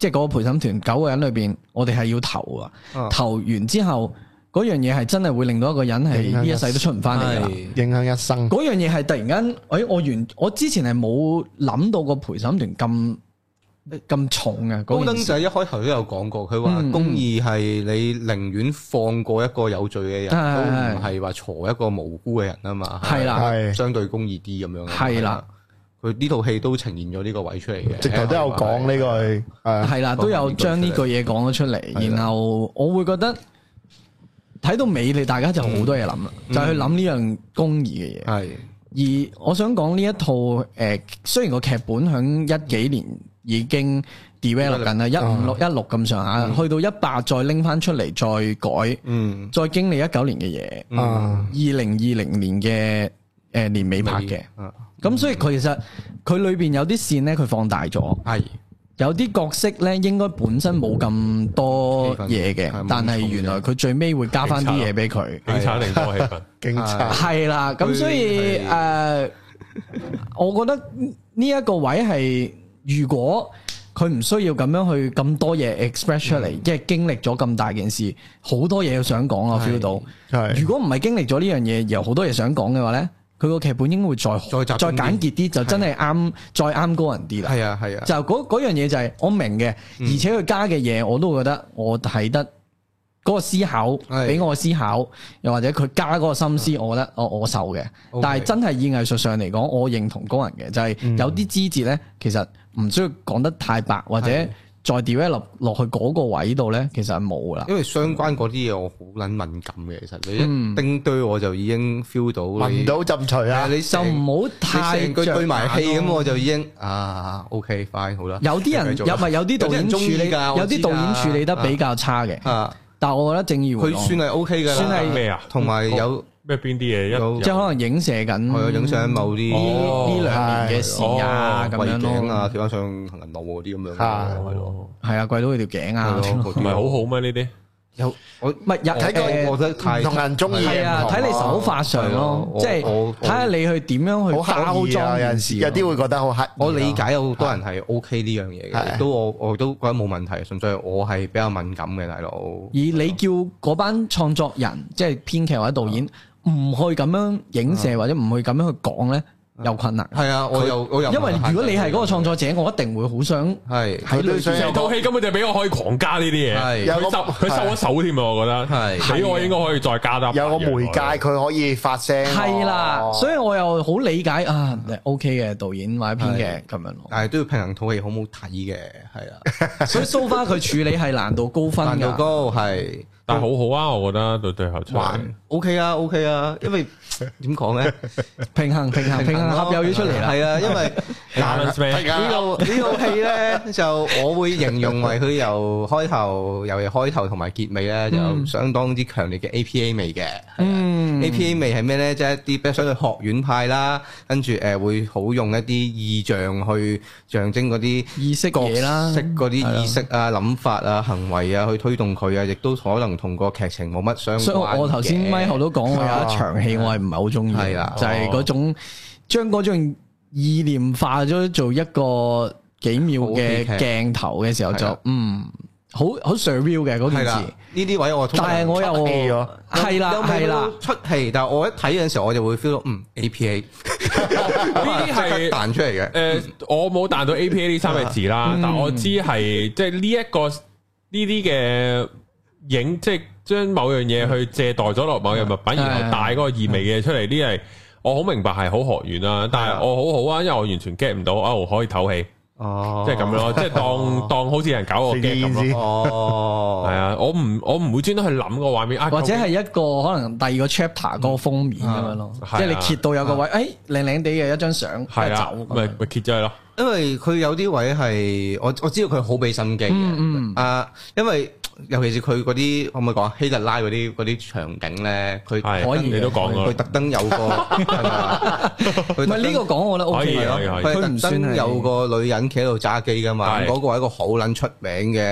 即係嗰個陪審團九個人裏邊，我哋係要投啊，投完之後嗰樣嘢係真係會令到一個人係呢一世都出唔翻嚟噶， 影響一生。 嗰樣嘢係突然間，誒、哎，我原我之前係冇諗到個陪審團咁咁重嘅。 高登仔一開頭都有講過，佢話公義係你寧願放過一個有罪嘅人，嗯、都唔係話鋤一個無辜嘅人啊嘛。係啦，係相對公義啲咁樣。係啦。佢呢套戲都呈現咗呢個位出嚟嘅， 直頭都有講呢句， 係啦，都有將呢句嘢講咗出嚟。然後我會覺得睇到尾，你大家就好多嘢諗啦，就係去諗呢樣公義嘅嘢。係，而我想講呢一套誒，雖然個劇本響一幾年已經 develop 緊啦，一五六一六咁上下，去到一百再拎翻出嚟再改，嗯，再經歷一九年嘅嘢，嗯，二零二零年嘅誒年尾拍嘅。咁所以佢其實佢裏邊有啲線咧，佢放大咗。係有啲角色咧，應該本身冇咁多嘢嘅，但係原來佢最尾會加翻啲嘢俾佢。 警察定多氣氛？警察係啦。咁所以誒，我覺得呢一個位係，如果佢唔需要咁樣去咁多嘢 express 出嚟，即係經歷咗咁大件事，好多嘢想講啊 feel 到。係如果唔係經歷咗呢樣嘢，有好多嘢想講嘅話咧。佢個劇本應該會再再再簡潔啲，就真係啱再啱高人啲啦。係啊係啊，就嗰嗰樣嘢就係我明嘅，而且佢加嘅嘢我都覺得我睇得嗰個思考俾我思考，又或者佢加嗰個心思，我覺得我我受嘅。但係真係以藝術上嚟講，我認同高人嘅，就係有啲枝節咧，其實唔需要講得太白，或者再 develop 落去嗰個位度咧，其實係冇啦。 因為相關嗰啲嘢我好撚敏感嘅，其實你一叮堆我就已經 feel 到聞到浸除啊！ 你就唔好太成句對埋氣咁，我就已經啊 OK fine 好啦。 有啲人有咪有啲導演處理，有啲導演處理得比較差嘅。啊，但係我覺得正義回廊佢算係 OK 嘅， 算係咩啊？ 同埋有。 咩邊啲嘢一即係可能影射緊， 係啊，影射緊某啲呢兩年嘅事啊，咁樣咯， 啊，跳翻上行人路嗰啲咁樣， 係咯，係啊，跪到佢條頸啊， 唔係好好咩呢啲？ 有我唔係睇過，我覺得太同人中意係啊，睇你手法上咯，即係睇下你去點樣去包裝。有陣時有啲會覺得好黑。 我理解有好多人係 OK 呢樣嘢嘅，都我我都覺得冇問題，純粹我係比較敏感嘅大佬。而你叫嗰班創作人，即係編劇或者導演，唔去咁樣影射或者唔去咁樣去講咧，有困難。 係啊，我又我又因為如果你係嗰個創作者，我一定會好想係喺裏邊。 成套戲根本就俾我可以狂加呢啲嘢，係佢收佢收咗手添啊！我覺得係俾我應該可以再加得。 有個媒介佢可以發聲。 係啦，所以我又好理解啊，OK 嘅導演或者編劇咁樣咯。 但係都要平衡套戲好唔好睇嘅，係啊。 所以 so far 佢處理係難度高分㗎。 難度高係。 但係好好啊，我覺得到最後出嚟 OK 啊 OK 啊，因為點講咧？ 平衡平衡平衡合又要出嚟啦。 係啊，因為呢套呢套戲咧，就我會形容為佢由開頭由開頭同埋結尾咧，就有相當之強烈嘅 A P A 味嘅。嗯 ，A P A 味係咩咧？即係一啲比較相對學院派啦，跟住誒會好用一啲意象去象徵嗰啲意識嘢啦， 識嗰啲意識啊、諗法啊、行為啊，去推動佢啊，亦都可能同個劇情冇乜相關。 所以我頭先咪後都講，我有一場戲我係唔係好中意，係啦，就係嗰種將嗰種意念化咗做一個幾秒嘅鏡頭嘅時候，就嗯好好 surreal 嘅嗰件事。 呢啲位我但係我又係啦係啦出戲，但係我一睇嘅時候我就會 feel 到嗯 A P A 呢啲係彈出嚟嘅。 誒，我冇彈到 A P A 呢三個字啦，但我知係即係呢一個呢啲嘅。影即係將某樣嘢去借代咗落某樣物品，然後帶嗰個意味嘅出嚟，呢係我好明白係好學院啦。但係我好好啊，因為我完全 get 唔到，哦可以唞氣，哦，即係咁樣咯，即係當當好似人搞個 get 咁咯。哦，係啊，我唔我唔會專登去諗個畫面， 或者係一個可能第二個 chapter 嗰個封面咁樣咯，即係你揭到有個位，誒靚靚地嘅一張相，係啊， 咪咪揭咗佢咯。 因為佢有啲位係我我知道佢好俾心機嘅，啊，因為。尤其是佢嗰啲可唔可以講希特拉嗰啲嗰啲場景咧，佢可以你都講咗， 佢特登有個唔係呢個講我覺得 OK 咯，佢特登有個女人企喺度揸機噶嘛，嗰個係一個好撚出名嘅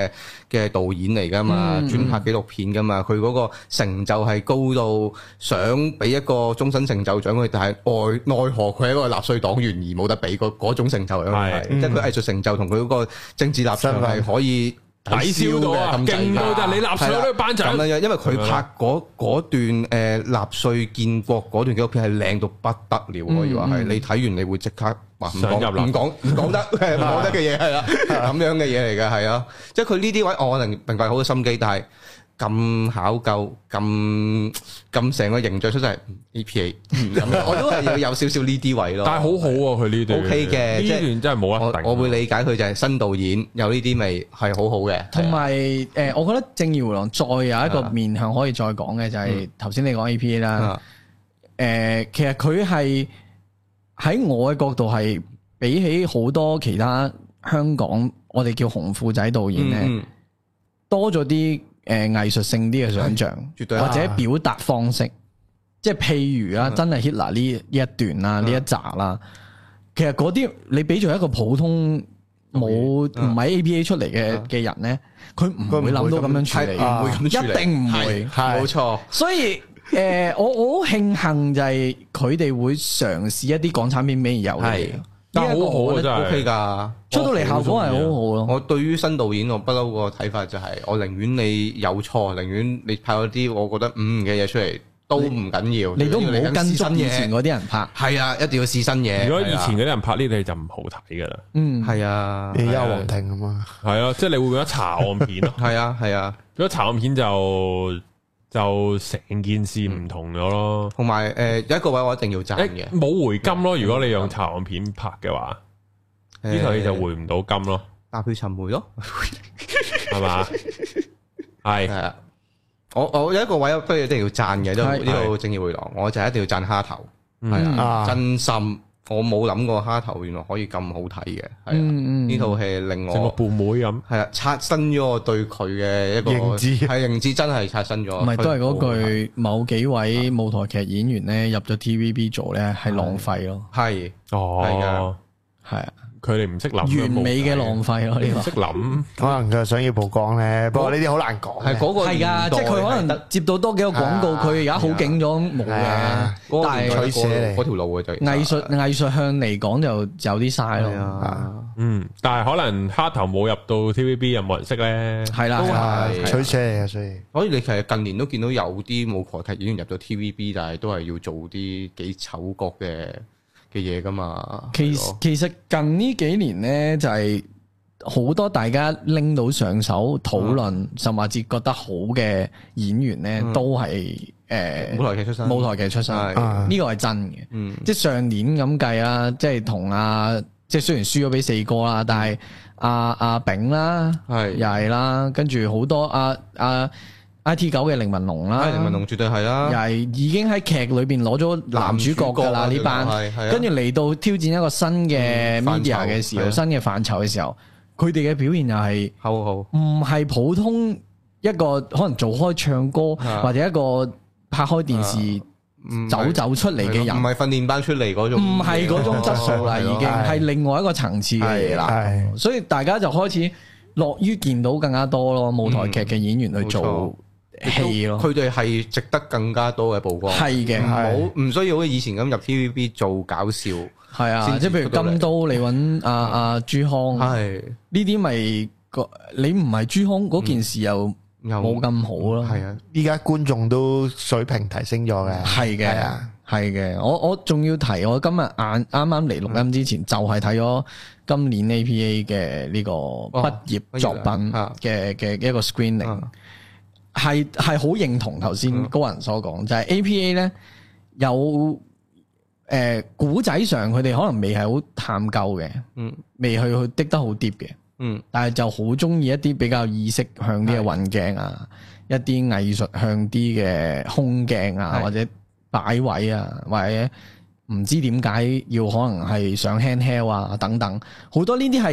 嘅導演嚟噶嘛，嗯、專拍紀錄片噶嘛，佢嗰個成就係高到想俾一個終身成就獎佢，但係奈奈何佢係一個納粹黨員而冇得俾嗰嗰種成就咯，係即係佢藝術成就同佢嗰個政治立場係可以抵消到啊，勁到就係你納粹都頒獎咁樣，因為佢拍嗰嗰段誒納粹建國嗰段紀錄片係靚到不得了，可以話係你睇完你會即刻話唔講唔講唔講得唔講得嘅嘢係啦，咁樣嘅嘢嚟嘅係啊，即係佢呢啲位我能明白好多心機，但係咁考究咁咁成個形象出嚟 A P A， 我都係要有少少呢啲位咯。 但係好好啊，佢呢段 OK 嘅， 呢段真係冇得頂。 我會理解佢就係新導演有呢啲味係好好嘅。 同埋誒，我覺得《正義迴廊》再有一個面向可以再講嘅就係頭先你講 A P A 啦。誒，其實佢係喺我嘅角度係比起好多其他香港我哋叫紅褲仔導演咧，多咗啲。誒，藝術性啲嘅想象，絕對或者表達方式，即係譬如啦，真係 Hitler 呢呢一段啦，呢一集啦，其實嗰啲你俾咗一個普通冇唔係 A P A 出嚟嘅嘅人咧，佢唔會諗到咁樣處理，唔會咁處理，一定唔會， 冇錯。所以誒，我我好慶幸就係佢哋會嘗試一啲港產片未有嘅。 但係好好啊，真係 OK 噶， 出到嚟效果係好好咯。 我對於新導演我不嬲個睇法就係，我寧願你有錯，寧願你拍嗰啲我覺得嗯嘅嘢出嚟都唔緊要。 你都唔好跟蹤以前嗰啲人拍。 係啊，一定要試新嘢。 如果以前嗰啲人拍呢啲就唔好睇噶啦。 嗯， 係啊， 你有黃庭啊嘛。 係啊，即係你會覺得查案片咯。 係啊，係啊， 如果查案片就。就成件事唔同咗咯， 同埋誒有一個位我一定要讚嘅， 冇回金咯。如果你用查案片拍嘅話，呢套嘢就回唔到金咯。 踏血尋梅咯， 係嘛？係係啊！我我有一個位不如一定要讚嘅，呢呢套《正義迴廊》，我就一定要讚蝦頭，係啊，真心。我冇諗過蝦頭原來可以咁好睇嘅，係啊！呢套戲令我成個伴妹咁， 係啊，刷新咗我對佢嘅一個認知， 係認知真係刷新咗。 唔係都係嗰句，某幾位舞台劇演員咧入咗 T V B 做咧係浪費咯。 係哦， 係啊， 係啊。 佢哋唔識諗， 完美嘅浪費咯，呢個識諗， 可能佢想要曝光咧。不過呢啲好難講。 係嗰個係噶，即係佢可能接到多幾個廣告，佢而家好勁咗冇嘅。但係取捨嚟嗰條路嘅就藝術藝術向嚟講就有啲嘥咯。 嗯，但係可能蝦頭冇入到 T V B 又冇人識咧。 係啦， 係取捨嚟嘅，所以所以你其實近年都見到有啲舞台劇演員入咗 T V B，但係都係要做啲幾醜角嘅嘅嘢噶嘛， 其實其實近呢幾年咧就係、是、好多大家拎到上手討論，嗯、甚至覺得好嘅演員咧，嗯、都係誒、呃、 舞台劇出身， 舞台劇出身，呢個係真嘅。嗯、即係上年咁計啦，即係同阿即係雖然輸咗俾四哥啦，但係阿阿炳啦，係又係啦，跟住好多阿阿。啊 I T 九嘅凌文龍啦， 凌文龍絕對係啦， 又係已經喺劇裏邊攞咗男主角噶啦呢班，跟住嚟到挑戰一個新嘅 media 嘅時候，嗯、新嘅範疇嘅時候，佢哋嘅表現又係好好， 唔係普通一個可能做開唱歌的或者一個拍開電視走走出嚟嘅人， 唔係訓練班出嚟嗰種， 唔係嗰種質素啦，已經係另外一個層次嘅嘢啦，所以大家就開始樂於見到更加多咯舞台劇嘅演員去做。戲咯， 佢哋係值得更加多嘅曝光。 係嘅， 冇唔需要好似以前咁入 T V B 做搞笑。 係啊，即係譬如金都，你揾阿阿朱康，係呢啲咪個你唔係朱康嗰件事又冇咁好咯。 係啊，依家觀眾都水平提升咗嘅。 係嘅，係嘅。我我仲要提，我今日晏啱啱嚟錄音之前，就係睇咗今年 A P A 嘅呢個畢業作品嘅嘅一個 screening。係係好認同頭先高人所講，嗯、就係 A P A 咧有誒古仔上佢哋可能未係好探究嘅，嗯，未去去滴得好 deep 嘅，嗯，但係就好中意一啲比較意識向啲嘅運鏡啊，是一啲藝術向啲嘅空鏡啊，是或者擺位啊，或者唔知點解要可能係上 handheld 啊等等，好多呢啲係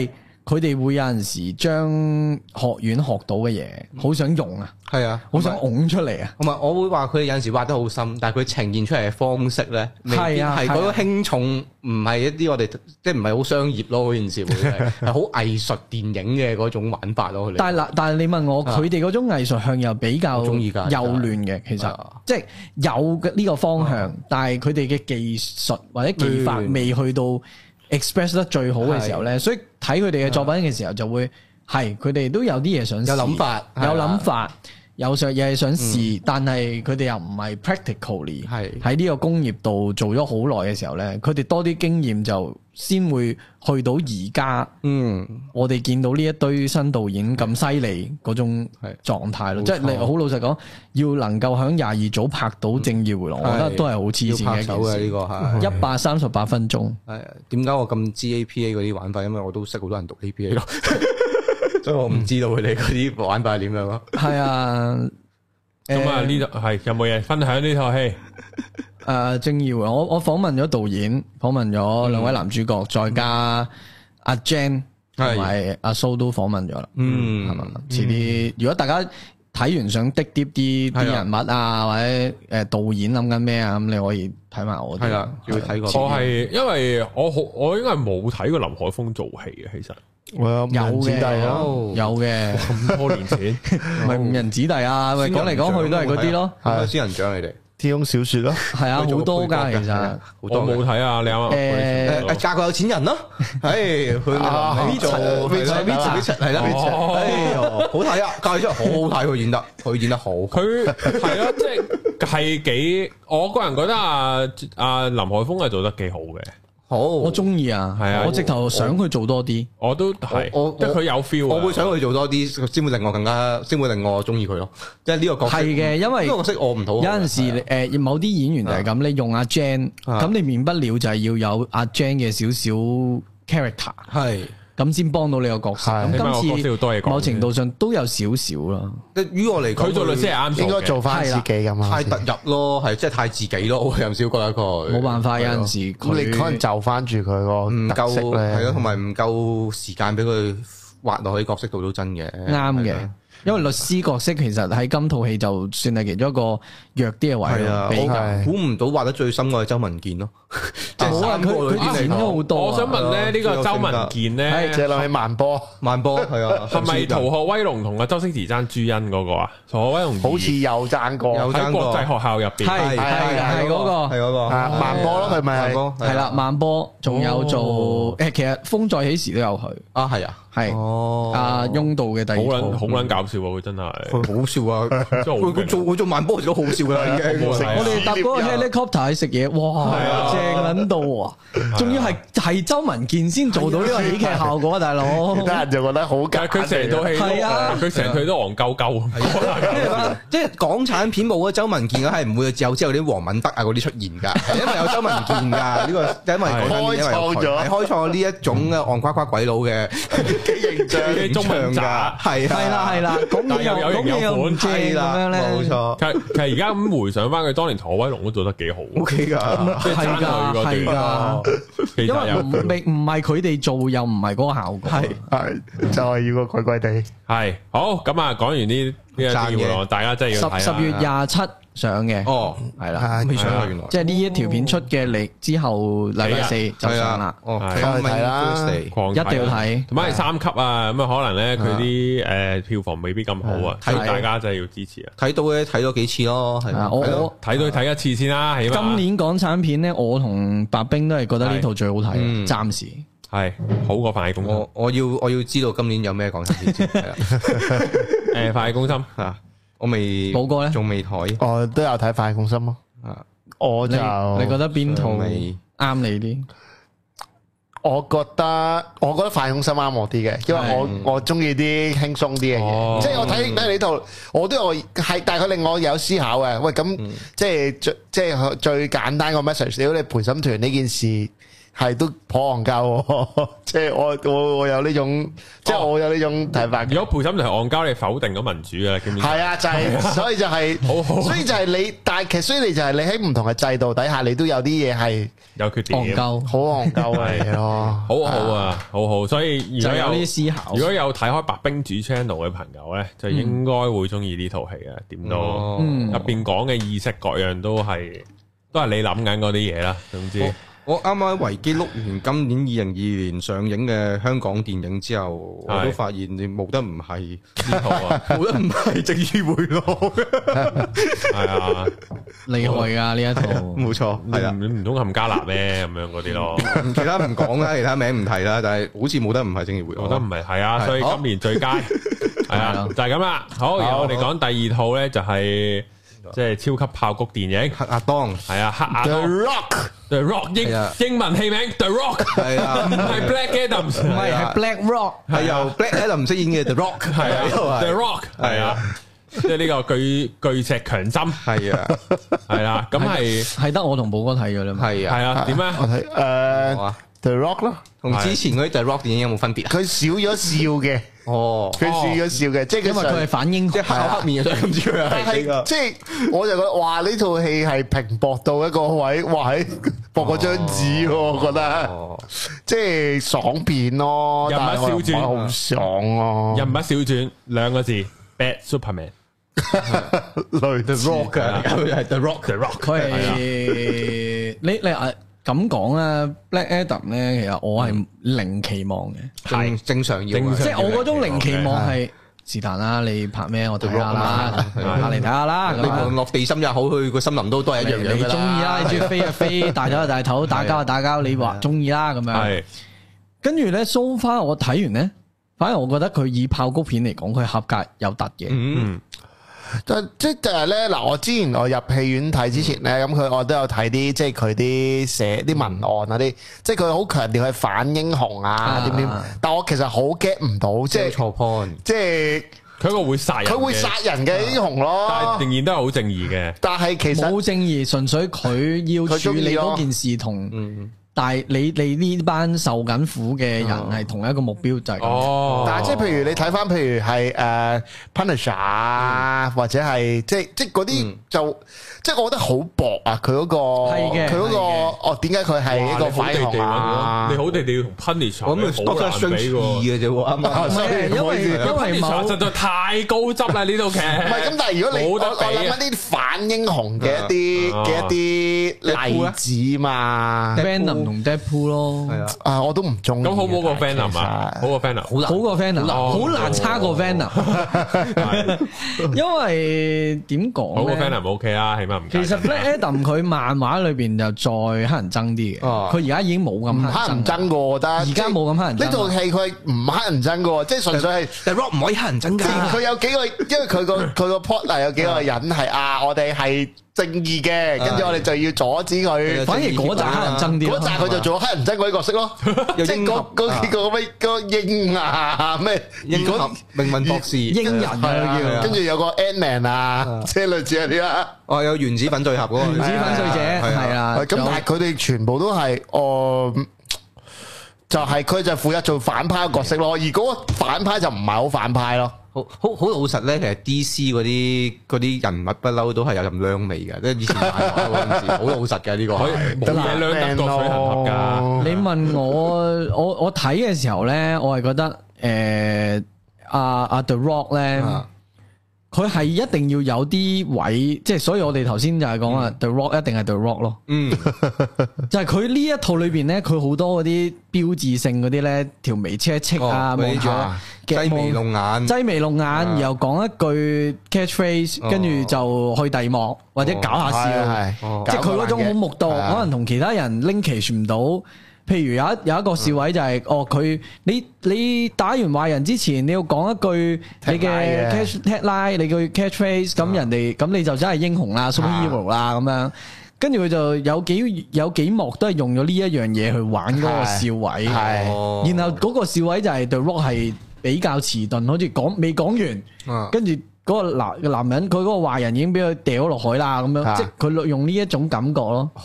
佢哋會有陣時將學院學到嘅嘢，好想用啊，係啊，好想拱出嚟啊。 同埋我會話佢哋有陣時挖得好深，但係佢呈現出嚟嘅方式咧，係啊，係嗰個輕重唔係一啲我哋即係唔係好商業咯，嗰件事會係係好藝術電影嘅嗰種玩法咯。 但係嗱，但係你問我，佢哋嗰種藝術向又比較幼嫩嘅，其實即係有嘅呢個方向，但係佢哋嘅技術或者技法未去到 express 得最好嘅時候咧，所以睇佢哋嘅作品嘅時候就會係佢哋都有啲嘢想試， 有諗法， 有諗法，有想嘢想試，但係佢哋又唔係 practically 喺呢個工業度做咗好耐嘅時候咧，佢哋多啲經驗就先會去到而家，嗯，我哋見到呢一堆新導演咁犀利嗰種狀態咯，即係你好老實講，要能夠響廿二組拍到《正義回廊》，我覺得都係好黐線嘅一件事。呢個係一百三十八分鐘。 係點解我咁知 A P A 嗰啲玩法？因為我都識好多人讀 A P A 咯，所以我唔知道佢哋嗰啲玩法係點樣咯。 係啊， 咁啊呢度係有冇嘢分享呢套戲？ 誒、uh, 正義我我訪問咗導演，訪問咗兩位男主角，嗯、再加阿 Jan 同埋阿蘇都訪問咗啦。嗯，係嘛？遲啲如果大家睇完想滴啲啲啲人物啊，或者誒導演諗緊咩啊，咁你可以睇埋我。係啦， 要睇過。 我係因為我好我應該係冇睇過林海峰做戲嘅，其實。 有嘅，有嘅， 咁多年前， 咪五人子弟啊，咪講嚟講去都係嗰啲咯， 係仙人掌你哋。 天空小說咯， 係啊，好多噶其實， 我冇睇啊，你啱啱誒嫁個有錢人咯，係去呢做呢做呢做係啦，哎喲好睇啊，嫁咗出嚟好好睇，佢演得佢演得好，佢係啊，即係係幾，我個人覺得啊啊林海峰係做得幾好嘅。 好，我中意啊，係啊，我直頭想佢做多啲， 我都係，我即係佢有 feel， 我會想佢做多啲，先會令我更加，先會令我中意佢咯。即係呢個角色係嘅，因為呢個角色我唔討。有陣時誒，某啲演員就係咁，你用阿 Jan，咁你免不了就係要有阿 Jan 嘅少少 character，係。咁先幫到你個角色。咁今次某程度上都有少少啦。 於我嚟講， 佢做律師係啱， 應該做翻自己咁啊。 太突入咯，係即係太自己咯。我有少覺得佢冇辦法，有陣時咁你可能就翻住佢個唔夠係咯，同埋唔夠時間俾佢畫落去角色度都真嘅。 啱嘅。因為律師角色其實喺今套戲就算係其中一個弱啲嘅位咯， 我估唔到畫得最深嘅係周文健咯，即係三個裏邊剪咗好多。 我想問咧，呢個周文健咧， 借落去慢波， 慢波係啊， 係咪《逃學威龍》同阿周星馳爭朱茵嗰個啊？《逃學威龍》 好似有爭過， 喺國際學校入邊， 係係係嗰個， 係嗰個慢波咯，係咪？ 係啦，慢波，仲有做誒，其實《風再起時》都有佢啊，係啊。 係哦，阿翁道嘅第二套好撚好撚搞笑喎，佢真係佢好笑啊！佢佢做佢做慢波時都好笑噶啦，已經。 我哋搭嗰個 helicopter 去食嘢，哇，正撚到啊！仲要係係周文健先做到呢個喜劇效果啊，大佬。 其他人就覺得好假， 佢成套戲係啊，佢成套都戇鳩鳩。 即係港產片冇咗周文健嘅係唔會有之後啲黃敏德啊嗰啲出現㗎，因為有周文健㗎呢個，因為開創咗開創呢一種嘅戇瓜瓜鬼佬嘅。形象嘅中文噶，係係啦係啦，咁又有型有款，係啦咁樣咧， 冇錯。其實其實而家咁回想翻佢當年《逃學威龍》都做得幾好 ，O K 噶， 係噶係噶，因為唔唔係佢哋做，又唔係嗰個效果， 係係就係要個怪怪地。 係好咁啊！講完呢呢一啲嘢，大家真係要睇十十月廿七上嘅， 哦， 係啦， 未上啊，原來即係呢一條片出嘅嚟之後，禮拜四就上啦， 哦， 睇啦， 一定要睇， 同埋係三級啊，咁啊可能咧佢啲誒票房未必咁好啊，所以大家真係要支持啊！ 睇到咧睇多幾次咯，係啊， 我我睇到睇一次先啦，起碼今年港產片咧，我同白冰都係覺得呢套最好睇，暫時係好過《飯戲攻心》。 我我要我要知道今年有咩港產片先係啦， 誒，《飯戲攻心》啊。 我未冇過咧， 仲未睇。 我都有睇《飯戲攻心》咯。啊，我就你覺得邊套啱你啲？ 我覺得我覺得《飯戲攻心》啱我啲嘅，因為我我中意啲輕鬆啲嘅嘢。即係我睇睇呢套，我都有係，但係佢令我有思考嘅。喂，咁即係最即係最簡單個 message，如果你陪審團呢件事係都頗戇鳩，即係我我我有呢種，即係我有呢種睇法。 如果陪審團係戇鳩，你否定咗民主嘅，基本上係啊，就係所以就係，好好，所以就係你，但係其實所以你就係你喺唔同嘅制度底下，你都有啲嘢係有缺點， 戇鳩，好戇鳩嚟咯， 好好啊，好好。所以如果有啲思考， 如果有睇開白兵主 channel 嘅朋友咧，就應該會中意呢套戲嘅。點都入邊講嘅意識各樣都係都係你諗緊嗰啲嘢啦。總之。 我啱啱維基碌完今年二零二二年上映嘅香港電影之後，我都發現你冇得唔係呢套啊，冇得唔係正義迴廊。 係啊， 厲害噶呢一套， 冇錯，係啊， 你唔通冚家辣咩咁樣嗰啲咯？ 其他唔講啦，其他名唔提啦，但係好似冇得唔係正義迴廊， 冇得唔係係啊，所以今年最佳係啊，就係咁啦。好，然後我哋講第二套咧，就係。即係超級爆谷電影， 黑亞當係啊，黑亞當 The Rock，The Rock 英英文戲名 The Rock 係啊， 唔係 Black Adam， 唔係係 Black Rock， 係由 Black Adam 飾演嘅 The Rock， 係啊 The Rock 係啊，即係呢個巨巨石強森係啊，係啦，咁係係得我同寶哥睇嘅啦嘛， 係啊， 係啊，點啊？ 我睇誒 The Rock 咯， 同之前嗰啲 The Rock 電影有冇分別啊？ 佢少咗笑嘅。 哦， 佢少咗笑嘅，即係因為佢係反英， 即係黑黑面嘅，咁知佢係。 但係即係，我就覺得哇！呢套戲係平薄到一個位，哇！喺薄過張紙，我覺得，即係爽片咯。 人物小傳好爽咯。 人物小傳兩個字 ，Bad Superman， 類 The Rock 嘅， 佢係 The Rock，The Rock， 佢係你你啊。咁講咧 ，Black Adam 咧，其實我係零期望嘅， 係正常要， 即係我嗰種零期望係是但啦，你拍咩我睇下啦，拍嚟睇下啦。 你無論落地心也好，去個森林都都係一樣樣。 你中意啦，你中意飛就飛，大頭就大頭，打交就打交，你話中意啦咁樣。係，跟住咧 so far 我睇完咧，反而我覺得佢以爆谷片嚟講，佢合格有突嘅。嗯。 就即就係咧嗱，我之前我入戲院睇之前咧，咁佢我都有睇啲即係佢啲寫啲文案嗰啲，即係佢好強調係反英雄啊點點，但我其實好 get 唔到，即係錯 point， 即係佢一個會殺人， 佢會殺人嘅英雄咯， 但係仍然都係好正義嘅。 但係其實冇正義，純粹佢要處理嗰件事同。但係你你呢班受緊苦嘅人係同一個目標就係咁。 哦，但係即係譬如你睇翻，譬如係誒 Punisher 啊，或者係即係即係嗰啲就即係我覺得好薄啊！佢嗰個係嘅，佢嗰個哦點解佢係一個反英雄啊？ 你好地地同 Punisher 咁咪好難比嘅啫喎，啱啱？ 因為因為某實在太高質啦呢套劇。唔係咁，但係如果你我我諗一啲反英雄嘅一啲嘅一啲例子嘛。 同 Deadpool 咯，係啊， 啊我都唔中意。 咁好唔好過 Venom 啊？好過 Venom，好難， 好過 Venom，好難差過 Venom。因為點講咧？ 好過 Venom OK 啦，起碼唔。 其實 Black Adam 佢漫畫裏邊就再黑人憎啲嘅，佢而家已經冇咁黑人憎過，我覺得而家冇咁黑人。 呢套戲佢唔黑人憎嘅，即係純粹係 The Rock 唔可以黑人憎㗎。佢有幾個，因為佢個佢個 plot 有幾個人係啊，我哋係。正義嘅，跟住我哋就要阻止佢。 反而嗰紮黑人憎啲， 嗰紮佢就做黑人憎嗰啲角色咯。即係嗰嗰幾個咩個鷹啊咩， 鷹俠、命運博士、 鷹人啊， 跟住有個 Ant-Man 啊，即係類似嗰啲啦。 哦，有原子粉碎俠嗰個。 原子粉碎者係啊。 咁但係佢哋全部都係哦，就係佢就負責做反派嘅角色咯。而嗰個反派就唔係好反派咯。 好好好老實咧，其實 D C 嗰啲嗰啲人物不嬲都係有陣娘味嘅，即係以前漫畫嗰陣時，好老實嘅呢個， 冇嘢兩得個水行俠㗎。 你問我，我我睇嘅時候咧，我係覺得誒阿阿 The Rock 咧，佢係一定要有啲位，即係所以我哋頭先就係講啊 The Rock 一定係 The Rock 咯。嗯，就係佢呢一套裏邊咧，佢好多嗰啲標誌性嗰啲咧，條眉車戚啊，望住。 擠眉弄眼， 擠眉弄眼，然後講一句 catchphrase，跟住就去第二幕或者搞下笑，即係佢嗰種好木道，可能同其他人 linkage 唔到。譬如有一有一個笑位就係，哦佢你你打完壞人之前，你要講一句你嘅 catch headline，你句 catchphrase，咁人哋咁你就真係英雄啦，superhero 啦咁樣。跟住佢就有幾有幾幕都係用咗呢一樣嘢去玩嗰個笑位，然後嗰個笑位就係 The Rock 係。比較遲鈍，好似講未講完，跟住嗰個男男人，佢嗰個壞人已經俾佢掉落海啦，咁樣，即係佢用呢一種感覺咯。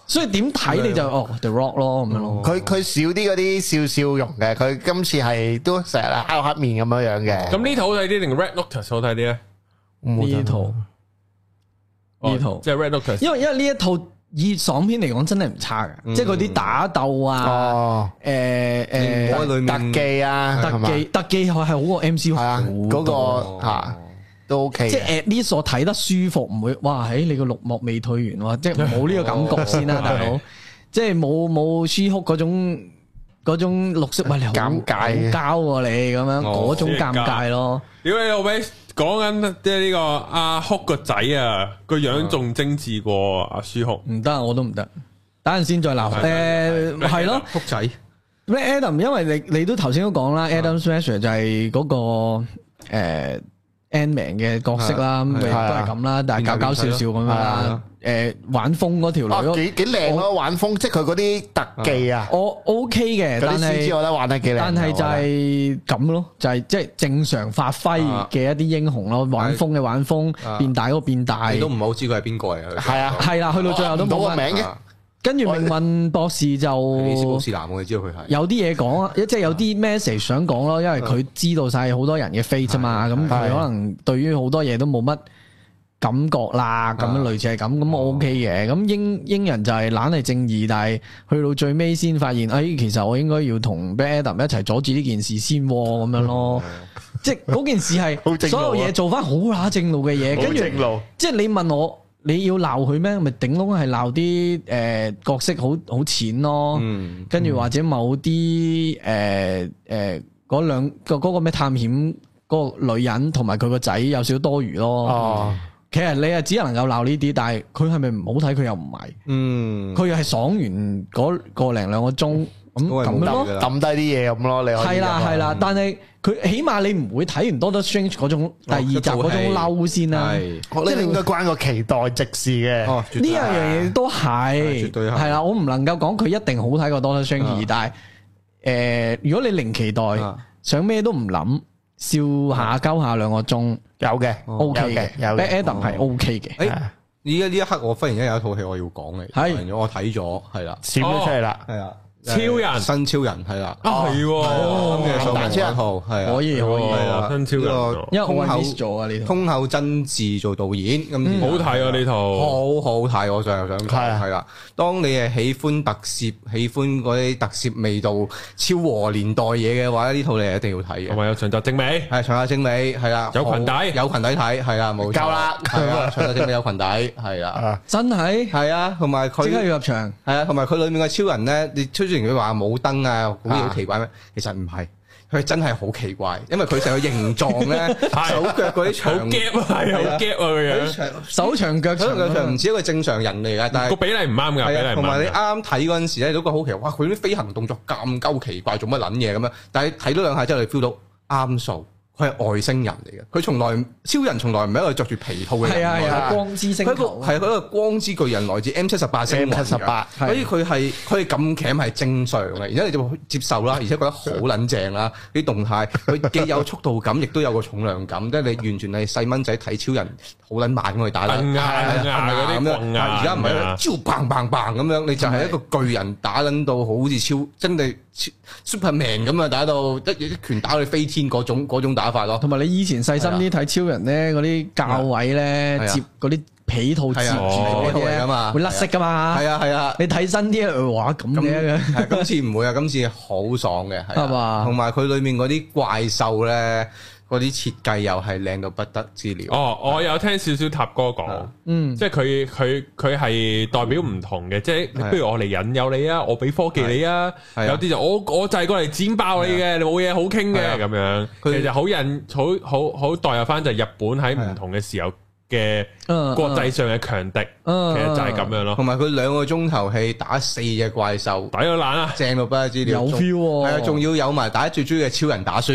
所以點睇你就哦 The Rock 咯咁樣咯。 佢佢少啲嗰啲笑笑容嘅，佢今次係都成日黑黑面咁樣樣嘅。 咁呢套好睇啲定 Red Notice 好睇啲咧？ 呢套呢套即係 Red Notice，因為因為呢一套以爽片嚟講真係唔差嘅，即係嗰啲打鬥啊，誒誒特技啊， 特技特技係好過 M C U 啊， 嗰個吓。都 OK， 即係 at least 我睇得舒服，唔會哇！喺你個綠幕未退完喎，即係冇呢個感覺先啦，大佬。即係冇冇 She-Hulk嗰種嗰種綠色，喂你好尷尬，膠喎你咁樣嗰種尷尬咯。 屌你老味，講緊即係呢個阿 Hulk 個仔啊，個樣仲精緻過阿 She-Hulk。唔得，我都唔得。等陣先再鬧。誒係咯 ，Hulk 仔。 咩 Adam？因為你你都頭先都講啦 ，Adam Smasher 就係嗰個誒。Ant-Man 嘅角色啦，咁都係咁啦，但係搞搞笑笑咁樣啦。誒，玩風嗰條女， 幾幾靚咯，玩風，即係佢嗰啲特技啊， 我 OK 嘅，但係 C G 我覺得玩得幾靚。 但係就係咁咯，就係即係正常發揮嘅一啲英雄咯，玩風嘅玩風，變大嗰個變大。 你都唔好知佢係邊個嚟？ 係啊， 係啦，去到最後都冇個名嘅。 跟住命運博士就布士南，我哋知道佢係有啲嘢講啊，即係有啲 message 想講咯，因為佢知道晒好多人嘅 fate 啫嘛，咁佢可能對於好多嘢都冇乜感覺啦，咁樣類似係咁，咁我 OK 嘅。咁英英人就係懶係正義，但係去到最尾先發現，哎，其實我應該要同 Black Adam 一齊阻止呢件事先咁樣咯。即係嗰件事係所有嘢做翻好乸正路嘅嘢，跟住即係你問我。你要鬧佢咩？咪頂籠係鬧啲誒角色好好淺咯，跟住、嗯、或者某啲誒誒嗰兩個嗰個咩探險嗰個女人同埋佢個仔有少少多餘咯。哦，其實你係只能夠鬧呢啲，但係佢係咪唔好睇？佢又唔係，嗯，佢又係爽完嗰個零兩個鐘咁咁咯， 抌低啲嘢咁咯。你係啦係啦，但係。佢起碼你唔會睇完 Doctor Strange 嗰種第二集嗰種嬲先啦， 即係你應該關個期待值事嘅。 呢樣嘢都係，係啦，我唔能夠講佢一定好睇過 Doctor Strange，但係誒，如果你零期待，想咩都唔諗，笑下鳩下兩個鐘， 有嘅 ，OK 嘅，Black Adam 係 OK 嘅。 誒，依家呢一刻我忽然間有一套戲我要講嘅，係我睇咗，係啦， 閃咗出嚟啦， 係啊。 超人新超人係啦， 啊係咁嘅數名一套係啊， 可以可以係啦， 新超人， 因為通口咗啊呢套， 通口真治做導演，咁好睇啊呢套， 好好睇，我上又想睇係啦。當你係喜歡特攝，喜歡嗰啲特攝味道、昭和年代嘢嘅話，呢套你係一定要睇嘅。 同埋有長澤正美， 係長澤正美係啦， 有裙底，有裙底睇係啦，冇錯啦， 係啊，長澤正美有裙底係啦， 真係係啊，同埋佢即刻要入場， 係啊，同埋佢裏面嘅超人咧，你雖然佢話冇燈啊，好似好奇怪咩？其實唔係，佢真係好奇怪，因為佢成個形狀咧，手腳嗰啲長， 好夾啊，係好夾啊個樣， 手長腳長， 腳長唔似一個正常人嚟噶，但係個比例唔啱噶，比例同埋你啱啱睇嗰陣時咧，都覺得好奇怪，哇！佢啲飛行動作咁鳩奇怪，做乜撚嘢咁樣？但係睇咗兩下之後，你 feel 到啱數。佢係外星人嚟嘅，佢從來超人從來唔係一個着住皮套嘅人， 係啊係啊，光之星球， 係佢一個光之巨人，來自 M 七十八星雲 M 七十八， 所以佢係佢係咁鉗係正常嘅，而且你就會接受啦，而且覺得好撚正啦，啲動態佢既有速度感，亦都有個重量感，即係你完全係細蚊仔睇超人好撚慢咁去打啦， 係係係咁樣， 而家唔係超砰砰砰咁樣，你就係一個巨人打撚到好似超真係 Superman 咁啊，打到一一拳打到你飛天嗰種嗰種打法咯， 同埋你以前細心啲睇超人咧，嗰啲教位咧接嗰啲皮套接住嗰啲咧，會甩色噶嘛？係啊係啊，你睇新啲話咁嘅， 今次唔會啊，今次好爽嘅係嘛， 同埋佢裏面嗰啲怪獸咧。嗰啲設計又係靚到不得之了。 哦，我有聽少少塔哥講，嗯，即係佢佢佢係代表唔同嘅，即係不如我嚟引誘你啊，我俾科技你啊，有啲就我我就係過嚟剪爆你嘅，你冇嘢好傾嘅咁樣。其實好引好好好代入翻就係日本喺唔同嘅時候嘅國際上嘅強敵，其實就係咁樣咯。 同埋佢兩個鐘頭戲打四隻怪獸， 抵到爛啊， 正到不得之了， 有 feel 喎。 係啊，仲要有埋打最中意嘅超人打輸。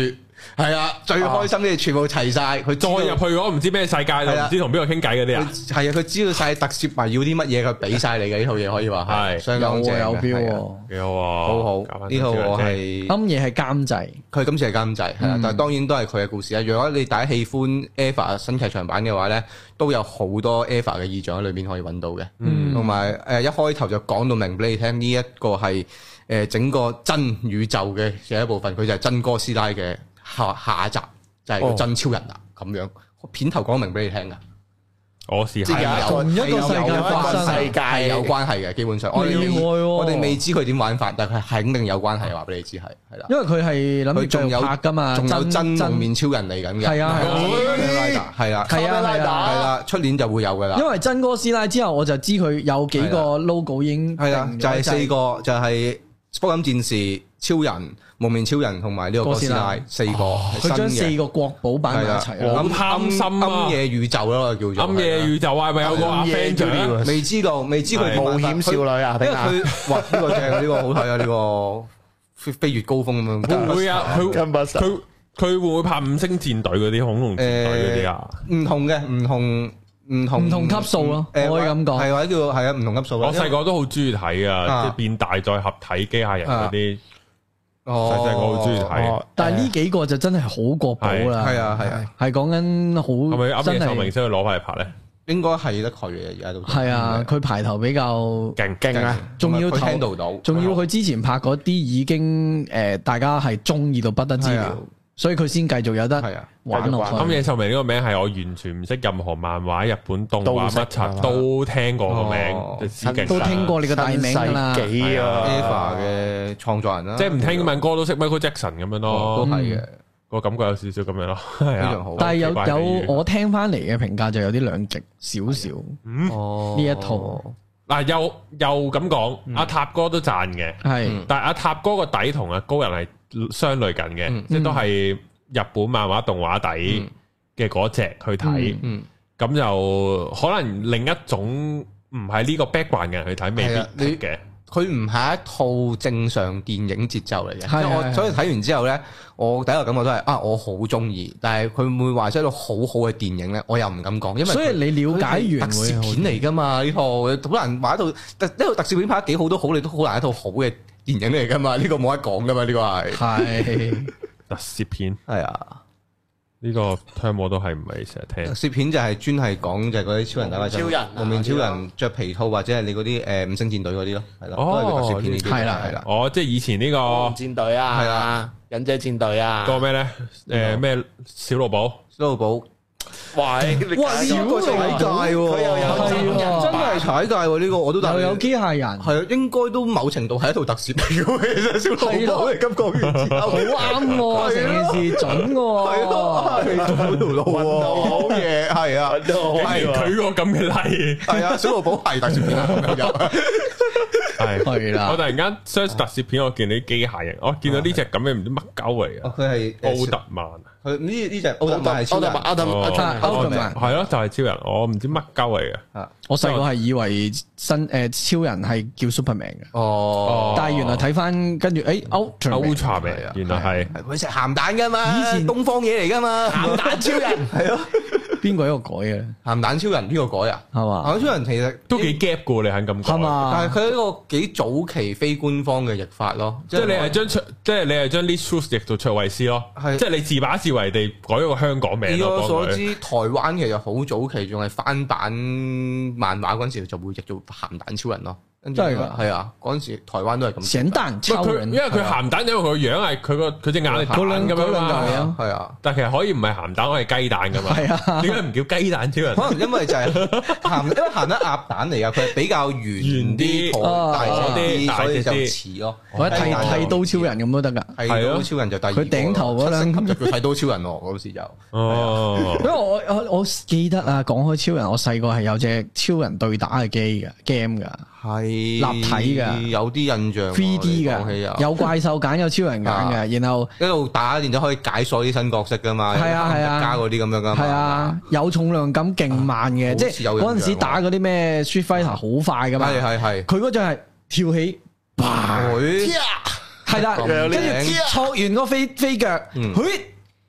係啊，最開心嘅全部齊晒，佢再入去嗰唔知咩世界，唔知同邊個傾偈嗰啲啊。 係啊，佢知道晒特攝迷要啲乜嘢，佢俾晒你嘅呢套嘢可以話係相當正， 有 feel， 幾好啊， 好好。呢套我係啱嘢係監製， 佢今次係監製，係啦，但係當然都係佢嘅故事啊。如果你大家喜歡 EVA 新劇場版嘅話咧，都有好多 EVA 嘅意象喺裏邊可以揾到嘅，同埋誒一開頭就講到明俾你聽，呢一個係誒整個真宇宙嘅嘅一部分，佢就係真哥斯拉嘅下下一集，就係個真超人啦咁樣。片頭講明俾你聽噶， 我試下同一個世界發生， 世界有關係嘅，基本上我哋我哋未知佢點玩法，但係佢肯定有關係，話俾你知係係啦。 因為佢係諗住仲有拍噶嘛， 仲有真蒙面超人嚟緊嘅，係啊係啊係啦係啊係啦，出年就會有噶啦。因為真哥斯拉之後，我就知佢有幾個 logo 已經係啦，就係四個，就係福音戰士、超人、蒙面超人同埋呢個哥斯拉四個， 佢將四個國寶擺埋一齊， 好貪心啊！ 暗夜宇宙咯，叫做暗夜宇宙啊，係咪有個阿 friend 未知道，未知佢冒險少女啊， 因為佢哇呢個正，呢個好睇啊，呢個飛飛越高峰咁樣。 會唔會啊？佢佢佢會唔會拍五星戰隊嗰啲恐龍戰隊嗰啲啊？ 唔同嘅，唔同。唔同唔同級數咯，可以咁講， 係或者叫係啊，唔同級數。 我細個都好中意睇啊，即係變大再合體機械人嗰啲，細細個好中意睇。 但係呢幾個就真係好過寶啦， 係啊係啊， 係講緊好。 係咪啱嘅壽明先去攞翻嚟拍咧？ 應該係得佢嘅，而家都係啊，佢排頭比較勁勁啊， 仲要聽到到， 仲要佢之前拍嗰啲已經誒，大家係中意到不得之了。所以佢先繼續有得玩落去。 暗夜秀明呢個名係我完全唔識任何漫畫、日本動畫乜柒都聽過個名， 都聽過你個大名㗎啦。 幾啊 EVA 嘅創作人啦， 即係唔聽英文歌都識 Michael Jackson 咁樣咯， 都係嘅。 個感覺有少少咁樣咯，係啊。 但係有有我聽翻嚟嘅評價就有啲兩極少少。嗯，呢一套嗱又又咁講，阿塔哥都讚嘅，係，但係阿塔哥個底同阿高人係相類近嘅，嗯、即係都係日本漫畫動畫底嘅嗰隻去睇，咁、嗯嗯、就可能另一種唔係呢個 background 嘅人去睇未必嘅。 佢唔係一套正常電影節奏嚟嘅，即係我的所以睇完之後咧，我第一個感覺都係啊，我好中意，但係佢會唔會話出一套好好嘅電影咧？我又唔敢講，因為所以你了解完特攝片嚟噶嘛？呢套好難話一套特呢套特攝片拍得幾好都好，你都好難一套好嘅電影嚟噶嘛？呢、這個冇得講噶嘛？呢、這個係係特攝片， 係啊。 呢個 term 我都係唔係成日聽。 攝片就係專係講就係嗰啲超人打怪獸，蒙面超人着皮套或者係你嗰啲誒五星戰隊嗰啲咯，係咯，都係特攝片呢啲。係啦係啦。 哦，即係以前呢個戰隊啊，係啦，忍者戰隊啊， 個咩咧？誒咩小露寶？ 小露寶。 喂， 哇！呢個踩界喎，佢又有真人，真係踩界喎！呢個我都又有機械人， 係啊，應該都某程度係一套特攝嚟嘅，其實小露寶嚟，咁講完之後好啱喎，成件事準喎， 係咯，係條路喎，好嘢，係啊， 係佢個咁嘅例， 係啊，小露寶係特攝片啊， 係係啦， 我突然間 search 特攝片，我見到啲機械人，我見到呢隻咁嘅唔知乜鳩嚟嘅， 佢係奧特曼。 佢呢呢隻奧特曼係超人，奧特曼奧特曼係咯，就係超人，我唔知乜鳩嚟嘅。 我細個係以為新誒超人係叫 Superman 嘅， 哦， 但係原來睇翻跟住誒 Ultraman， 原來係佢食鹹蛋噶嘛，以前東方嘢嚟噶嘛，鹹蛋超人係咯。 邊個一個改嘅？ 鹹蛋超人邊個改啊？係嘛？鹹蛋超人其實都幾 gap 噶，你肯咁講係嘛？ 但係佢係一個幾早期非官方嘅譯法咯， 即係你係將即係你係將 Lee Strus 譯做卓慧思咯，即係你自把自為地改咗個香港名。以我所知，台灣其實好早期仲係翻版漫畫嗰陣時就會譯做鹹蛋超人咯。真係噶，係啊！嗰陣時台灣都係咁。 鹹蛋超人， 因為佢鹹蛋，因為佢個樣係佢個佢隻眼係蛋咁樣嘛。係啊，但其實可以唔係鹹蛋，可以雞蛋噶嘛。係啊，點解唔叫雞蛋超人？ 可能因為就係鹹，因為鹹蛋鴨蛋嚟㗎，佢係比較圓啲、大啲，所以就似咯。 或者剃剃刀超人咁都得㗎。 剃刀超人就第二個。佢頂頭嗰兩級就叫剃刀超人喎，嗰時就。 哦。 因為我我我記得啊，講開超人，我細個係有隻超人對打嘅機㗎 game 㗎。 係立體嘅，有啲印象。 three D 嘅，有怪獸揀，有超人揀嘅，然後一路打，然之後可以解鎖啲新角色噶嘛。係啊係啊，加嗰啲咁樣噶嘛。係啊， 有重量感，勁慢嘅，即係嗰陣時打嗰啲咩 Street Fighter 好快噶嘛。係係係，佢嗰隻係跳起，係啦，跟住挫完個飛飛腳，佢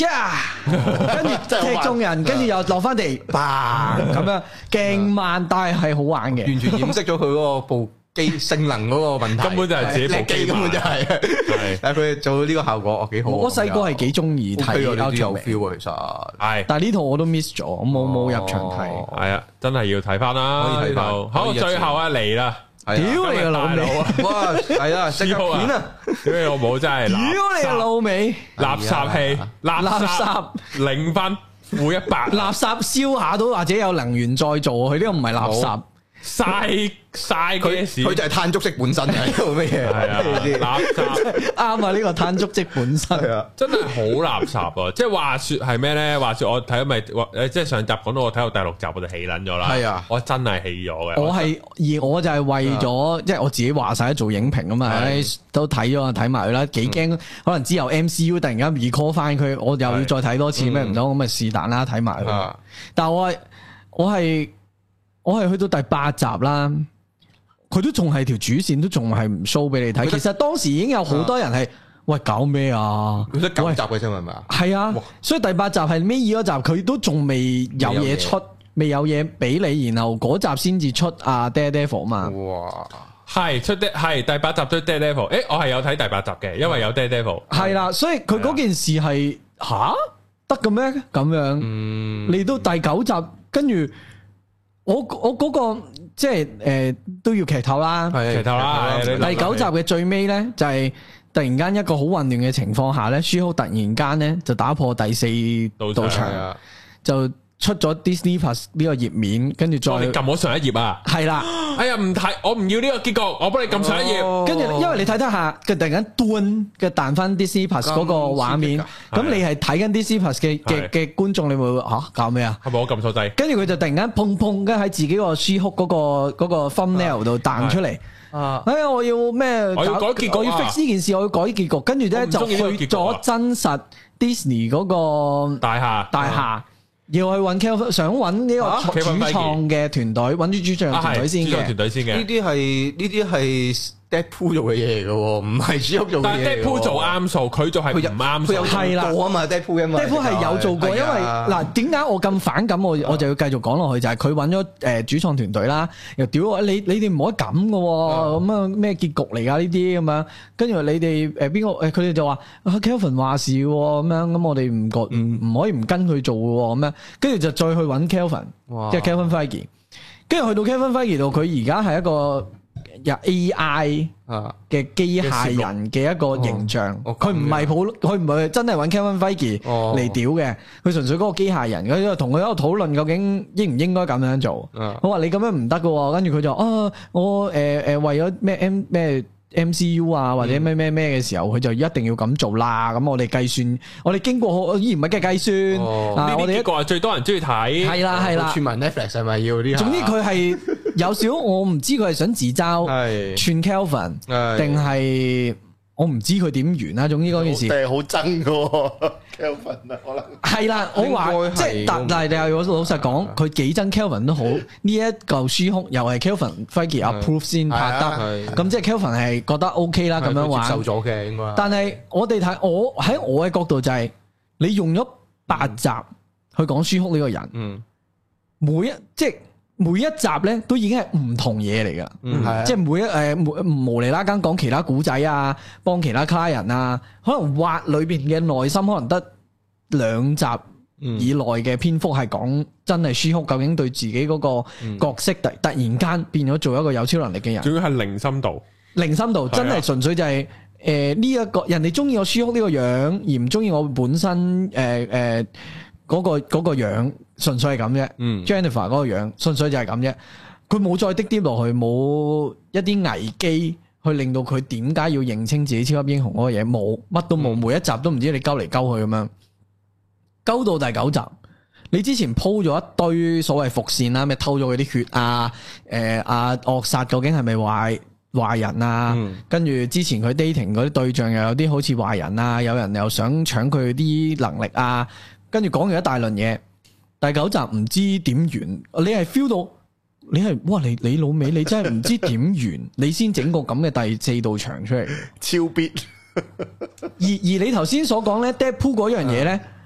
跟住踢中人，跟住又落翻地，嘭咁樣，勁慢，但係係好玩嘅， 完全掩飾咗佢嗰個部機性能嗰個問題， 根本就係自己部機， 根本就係。係，但係佢做到呢個效果，哦幾好。 我細個係幾中意睇呢套有 feel 啊，其實係。 但係呢套我都 miss 咗，我冇冇入場睇。 係啊，真係要睇翻啦。可以睇到。好，最後啊嚟啦。 屌你個老味！ 哇，係啊，食片啊！ 屌你老母真係！ 屌你個老味！ 垃圾戲，垃圾零分，負一百。 垃圾燒下都或者有能源再做，佢呢個唔係垃圾。 嘥嘥佢事， 佢就係碳足跡本身係做咩嘢？係啊， 垃圾啱啊！呢個碳足跡本身啊， 真係好垃圾啊！即係話說係咩咧？話說我睇咪誒，即係上集講到我睇到第六集我就氣撚咗啦。係啊，我真係氣咗嘅。我係而我就係為咗即係我自己話晒做影評啊嘛，都睇咗睇埋佢啦。幾驚可能之後 M C U 突然間 recall 翻佢，我又要再睇多次咩唔得咁咪是但啦，睇埋佢。但係我係我係。我係去到第八集啦，佢都仲係條主線，都仲係唔 show 俾你睇。其實當時已經有好多人係喂搞咩啊？佢得九集嘅啫係咪啊？係啊，所以第八集係尾二嗰集，佢都仲未有嘢出，未有嘢俾你，然後嗰集先至出啊 Daredevil 嘛。哇，係出的係第八集出 Daredevil。誒，我係有睇第八集嘅，因為有 Daredevil。係啦，所以佢嗰件事係吓得嘅咩？咁樣，嚟到第九集，跟住。我我嗰、那個即係誒、呃、都要劇透啦，劇透啦。第九集嘅最尾咧，就係、是、突然間一個好混亂嘅情況下咧，舒克突然間咧就打破第四道牆，就出咗 Disney Plus 呢個頁面，跟住再你撳我上一頁啊！係啦，哎呀唔睇，我唔要呢個結局，我幫你撳上一頁。跟住、哦、因為你睇睇下，佢突然間端嘅彈翻 Disney Plus 嗰個畫面，咁你係睇緊 Disney Plus 嘅嘅嘅觀眾，你會吓搞咩啊？係咪我撳錯掣？跟住佢就突然間砰砰，跟喺自己個 She-Hulk 嗰個嗰個 thumbnail 度彈出嚟。啊！哎呀，我要咩？我要改結局，我要 fix 呢件事，我要改結局。跟住咧就去咗真實 Disney 嗰個大廈大廈。要去揾 Kevin，想揾呢個主創嘅團隊，揾啲主創團隊先嘅。主創團隊先嘅。呢啲係呢啲係 Deadpool 做嘅嘢嚟嘅，唔係主角做嘅嘢。但係 Deadpool 做啱數，佢做係唔啱數。佢有做過啊嘛 Deadpool 啊嘛。Deadpool 係有做過，因為嗱點解我咁反感？我我就要繼續講落去，就係佢揾咗誒主創團隊啦，又屌我你你哋唔可以咁嘅，咁啊咩結局嚟㗎呢啲咁樣？跟住你哋誒邊個誒佢哋就話 Kevin 話事咁樣，咁我哋唔覺唔唔可以唔跟佢做嘅咁樣。跟住就再去揾 Kevin，即係 Kevin Feige。跟住去到 Kevin Feige 度，佢而家係一個有 A I 嘅機械人嘅一個形象。佢唔係普，佢唔係真係揾 Kevin Feige 嚟屌嘅。佢純粹嗰個機械人。佢同佢喺度討論究竟應唔應該咁樣做。我話你咁樣唔得嘅。跟住佢就啊，我誒誒、呃、為咗咩 M 咩？M C U 啊或者咩咩咩嘅時候，佢就一定要咁做啦。咁我哋計算，我哋經過好依然唔係嘅計算。呢啲結果係最多人中意睇。係啦係啦。串埋 Netflix 係咪要啲？總之佢係有少，我唔知佢係想自嘲串 Kelvin，定係我唔知佢點完啦。總之嗰件事係好憎嘅 Kelvin 啊，可能係啦。我話即係但但係你又老實講，佢幾憎 Kelvin 都好。呢一嚿書哭又係 Kelvin Feige approve 先拍得，咁即係 Kelvin 係覺得 OK 啦，咁樣玩接受咗嘅應該。但係我哋睇我喺我嘅角度就係，你用咗八集去講書哭呢個人，嗯，每一即係。每一集咧都已經係唔同嘢嚟噶，嗯、即係每一誒無厘啦更講其他古仔啊，幫其他客人啊，可能挖裏邊嘅內心可能得兩集以內嘅篇幅係講真係書哭究竟對自己嗰個角色突突然間變咗做一個有超能力嘅人，仲要係零深度，零深度真係純粹就係誒呢一個人哋中意我書哭呢個樣，而唔中意我本身誒誒。呃呃嗰個嗰個樣純粹係咁啫，Jennifer 嗰個樣純粹就係咁啫，佢冇再滴啲落去，冇一啲危機去令到佢點解要認清自己超級英雄嗰個嘢，冇乜都冇，每一集都唔知你鳩嚟鳩去咁樣，鳩到第九集，你之前鋪咗一堆所謂伏線啦，咩偷咗佢啲血啊，誒阿惡殺究竟係咪壞壞人啊？嗯、跟住之前佢 dating 嗰啲對象又有啲好似壞人啊，有人又想搶佢啲能力啊。跟住講完一大輪嘢，第九集唔知點完，你係 feel 到你係哇你你老味，你真係唔知點完，你先整個咁嘅第四道牆出嚟，超必。而而你頭先所講咧 Deadpool 嗰樣嘢咧，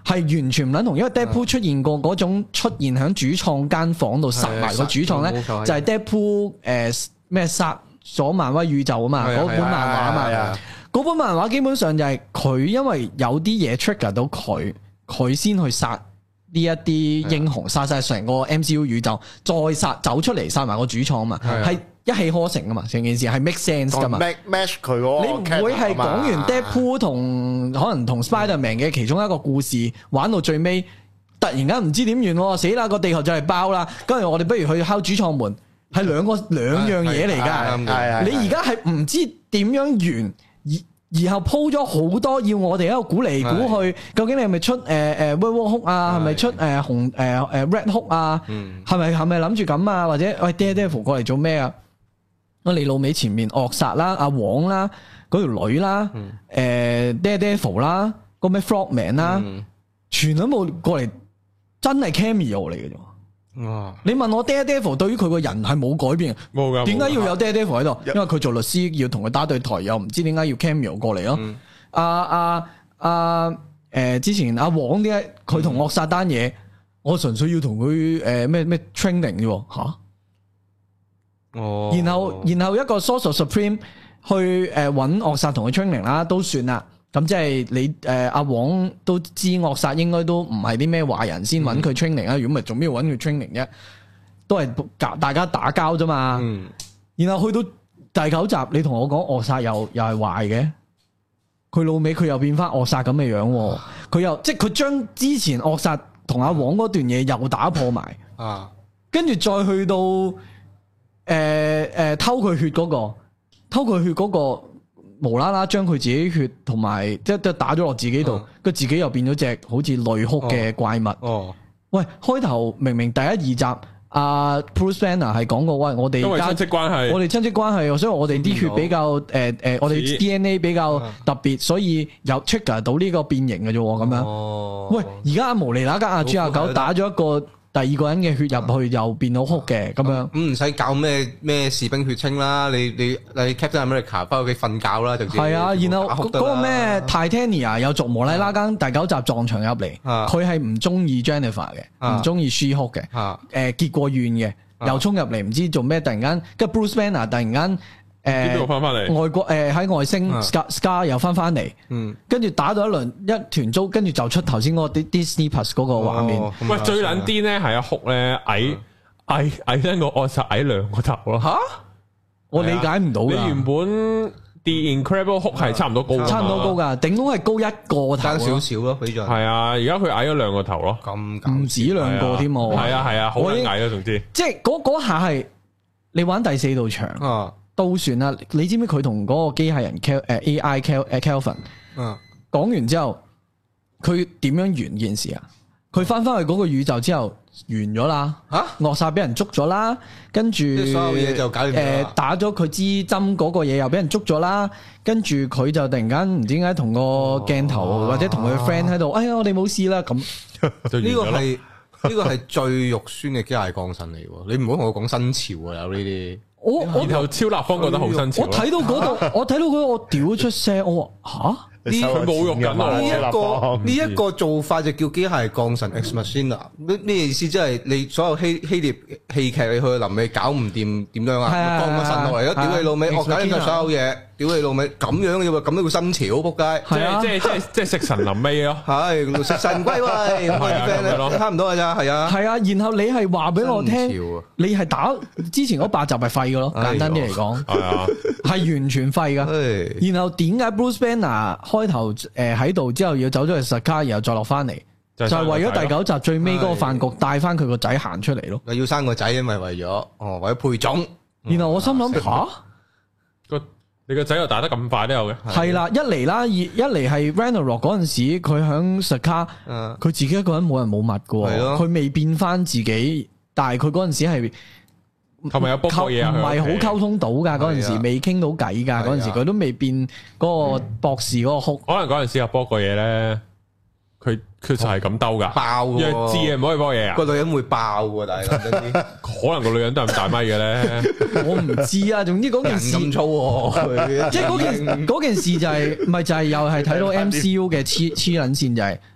係完全唔撚同，因為 Deadpool 出現過嗰種出現喺主創間房度殺埋個主創咧，就係 Deadpool 誒咩殺咗漫威宇宙啊嘛，嗰本漫畫啊嘛，嗰本漫畫基本上就係佢因為有啲嘢 trigger 到佢，佢先去殺呢一啲英雄，殺晒成個 M C U 宇宙，再殺走出嚟殺埋個主創啊嘛，係一氣呵成噶嘛，成件事係 make sense 噶嘛 ，match 佢喎， 你唔會係講完 Deadpool 同可能同 Spider-Man 嘅其中一個故事玩到最尾，突然間唔知點完，死啦個地球就嚟爆啦，跟住我哋不如去敲主創門，係兩個兩樣嘢嚟噶，你而家係唔知點樣完，而然後鋪咗好多要我哋喺度估嚟估去，究竟你係咪出誒誒 Werewolf Hulk 啊，係咪出誒紅誒誒 Red Hulk 啊，係咪係咪諗住咁啊，或者喂 Daredevil 過嚟做咩啊？我嚟老尾前面惡殺啦，阿黃啦，嗰條女啦，誒 Daredevil 啦，個咩 Frogman 啦，全都冇過嚟，真係 cameo 嚟嘅啫。哇！你問我 Daredevil 對於佢個人係冇改變，冇噶，點解要有 Daredevil 喺度？因為佢做律師要同佢打對台，又唔知點解要 cameo 過嚟咯。阿阿阿誒，之前阿黃點解佢同惡殺單嘢？我純粹要同佢誒咩咩 training 啫吓。哦，然後然後一個 Sorcerer Supreme 去誒揾惡殺同佢 training 啦，都算啦。咁即係你誒阿黃都知惡殺應該都唔係啲咩壞人先揾佢 training 啊，如果唔係做咩要揾佢 training 啫？都係大家打交啫嘛。嗯。然後去到第九集，你同我講惡殺又又係壞嘅，佢老尾佢又變翻惡殺咁嘅樣，佢又即係佢將之前惡殺同阿黃嗰段嘢又打破埋啊，跟住再去到。誒誒、呃呃，偷佢血嗰、那個，偷佢血嗰、那個，無啦啦將佢自己血同埋即係打咗落自己度，佢、嗯、自己又變咗隻好似淚哭嘅怪物。哦，哦喂，開頭明明第一二集阿、啊、Bruce Banner 係講過，喂，我哋因為親戚關係，我哋親戚關係，所以我哋啲血比較誒誒、呃，我哋 D N A 比較特別，所以有 trigger 到呢個變形嘅啫，咁樣。哦，喂，而家阿無厘那間阿豬阿狗打咗一個。第二個人嘅血入去又變到哭嘅咁樣， 咁唔使搞咩咩士兵血清啦，你你你 Captain America 翻屋企瞓覺啦，就係啊，然後嗰個咩 Titania 有族無禮拉更第九集撞牆入嚟，佢係唔中意 Jennifer 嘅，唔中意 She-Hulk 嘅，誒結過怨嘅，又衝入嚟唔知做咩，突然間跟 Bruce Banner 突然間。誒，翻翻嚟外國誒喺外星 Scar Scar 又翻翻嚟，嗯，跟住打咗一輪一團糟，跟住就出頭先嗰個 Disney Plus 嗰個畫面。 喂，最撚癲咧係阿哭咧矮矮矮得個惡殺矮兩個頭咯。吓， 我理解唔到。你原本 The Incredible Hulk係差唔多高， 差唔多高噶，頂多係高一個頭， 爭少少咯，比較。 係啊，而家佢矮咗兩個頭咯， 咁唔止兩個添喎。 係啊係啊，好矮咯，總之。即係嗰嗰下係你玩第四道牆啊。都算啦，你知唔知佢同嗰個機械人 Kel 誒 A I Kel 誒 Kelvin 嗯講完之後，佢點樣完件事啊？佢翻翻去嗰個宇宙之後完咗啦，吓惡殺俾人捉咗啦，跟住所有嘢就搞掂誒打咗佢支針嗰個嘢又俾人捉咗啦，跟住佢就突然間唔知點解同個鏡頭、哦、或者同佢 friend 喺度，哎呀我哋冇事啦咁，呢個係呢個係最肉酸嘅機械降神嚟，你唔好同我講新潮啊有呢啲。 我我然後超立方覺得好新潮， 我睇到嗰度，我睇到嗰度，我屌出聲，我話吓呢佢侮辱緊呢一個呢一個做法就叫機械降神 Ex Machina，咩咩意思？即係你所有希希臘戲劇你去臨尾搞唔掂點樣啊？降個神落嚟咯，屌你老味，我搞掂晒所有嘢，屌你老味，咁樣嘅喎，咁都叫新潮，仆街！ 即係即係即係即係食神臨尾咯， 係食神歸位，差唔多噶咋，係啊， 係啊，然後你係話俾我聽，你係打之前嗰八集係廢嘅咯，簡單啲嚟講，係啊，係完全廢噶。然後點解 Bruce Banner？開頭誒喺度之後要走咗去 Sakaar，然後再落翻嚟，就係為咗第九集最尾嗰個飯局帶翻佢個仔行出嚟咯。 要生個仔，因為為咗哦，為咗配種。 然後我心諗吓， 個你個仔又打得咁快都有嘅。 係啦，一嚟啦，二一嚟係 Ragnarok 嗰陣時，佢響 Sakaar，佢自己一個人冇人冇物嘅，佢未變翻自己，但係佢嗰陣時係。 係咪有波過嘢啊？ 唔係好溝通到噶，嗰陣時未傾到偈噶，嗰陣時佢都未變嗰個博士嗰個哭。 可能嗰陣時有波過嘢咧，佢佢就係咁兜噶， 爆嘅， 知嘅唔可以波嘢啊！ 個女人會爆嘅，但係可能個女人都係咁大咪嘅咧， 我唔知啊。總之嗰件事咁粗， 即係嗰件嗰件事就係，咪就係又係睇到 M C U 嘅黐黐捻線就係。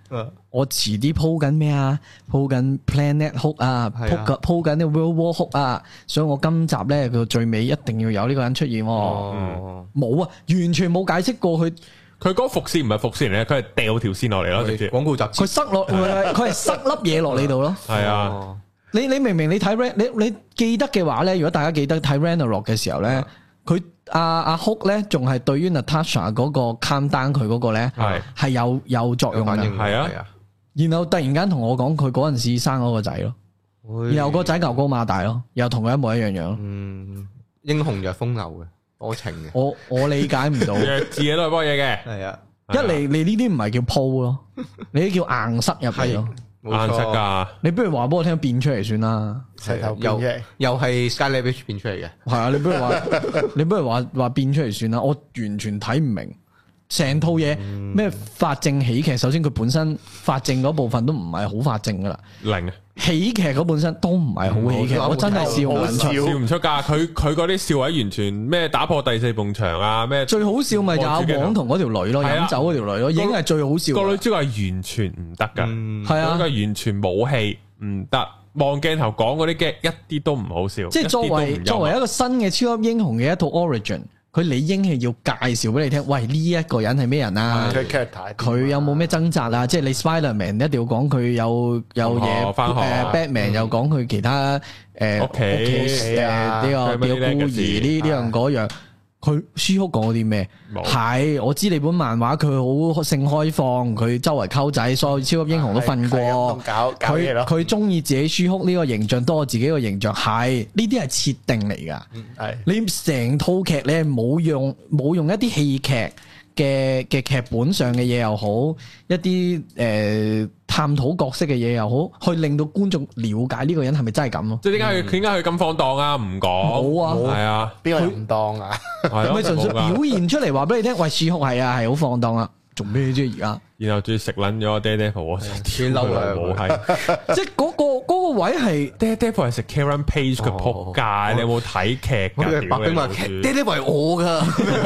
我遲啲鋪緊咩啊？鋪緊 Planet Hulk 啊，鋪緊鋪緊啲 World War Hulk 啊，所以我今集咧佢最尾一定要有呢個人出現。哦，冇啊，完全冇解釋過佢。 佢嗰個伏線唔係伏線嚟，佢係掉條線落嚟咯，直接廣告集。 佢塞落，佢係塞粒嘢落你度咯。係啊，你你明明你睇 Ran，你你記得嘅話咧，如果大家記得睇 Ragnarok 嘅時候咧，佢。阿阿 Hulk 咧，仲係對於 Natasha 嗰個 calm down 佢嗰個咧，係係有有作用嘅， 係啊。 然後突然間同我講，佢嗰陣時生嗰個仔咯，然後個仔牛高馬大咯，又同佢一模一樣樣。 嗯，英雄就係風流嘅，多情嘅。 我我理解唔到， 自己都係幫嘢嘅。 係啊， 一嚟你呢啲唔係叫鋪咯，你啲叫硬塞入嚟咯。 硬塞噶， 你不如話俾我聽變出嚟算啦， 又又係 Scarlet Witch 變出嚟嘅， 係啊，你不如話，你不如話話變出嚟算啦，我完全睇唔明，成套嘢咩法證喜劇，首先佢本身法證嗰部分都唔係好法證噶啦， 零喜劇嗰本身都唔係好喜劇，我真係笑唔出， 笑唔出噶，佢佢嗰啲笑位完全咩打破第四埲牆啊，咩最好笑咪就阿黃同嗰條女咯，飲酒嗰條女咯，已經係最好笑。 個女主角係完全唔得噶，係啊，係完全冇戲唔得，望鏡頭講嗰啲嘅一啲都唔好笑。即係作為作為一個新嘅超級英雄嘅一套 origin。佢理應係要介紹俾你聽，喂，呢一個人係咩人啊？佢有冇咩掙扎啊？即係你 Spider-Man 一定要講佢有有嘢，誒 Batman 又講佢其他誒屋企誒呢個呢個孤兒呢呢樣嗰樣。佢書哭講啲咩？係我知你本漫畫佢好性開放，佢周圍溝仔，所有超級英雄都瞓過。佢佢中意自己書哭呢個形象多過自己個形象，係呢啲係設定嚟噶。係你成套劇你係冇用冇用一啲戲劇嘅嘅劇本上嘅嘢又好，一啲誒探討角色嘅嘢又好，去令到觀眾了解呢個人係咪真係咁咯？即係點解佢點解佢咁放蕩啊？唔講冇啊， 係啊， 邊個唔當啊？ 係咪純粹表現出嚟話俾你聽？喂，書哭係啊，係好放蕩啊，做咩啫而家？ 然後仲要食撚咗 Daredevil，我天嬲啦，冇係， 即係嗰個嗰個位係 Daredevil 係食 Karen Page 嘅仆街，你有冇睇劇㗎？ 白兵話 Daredevil 係我噶。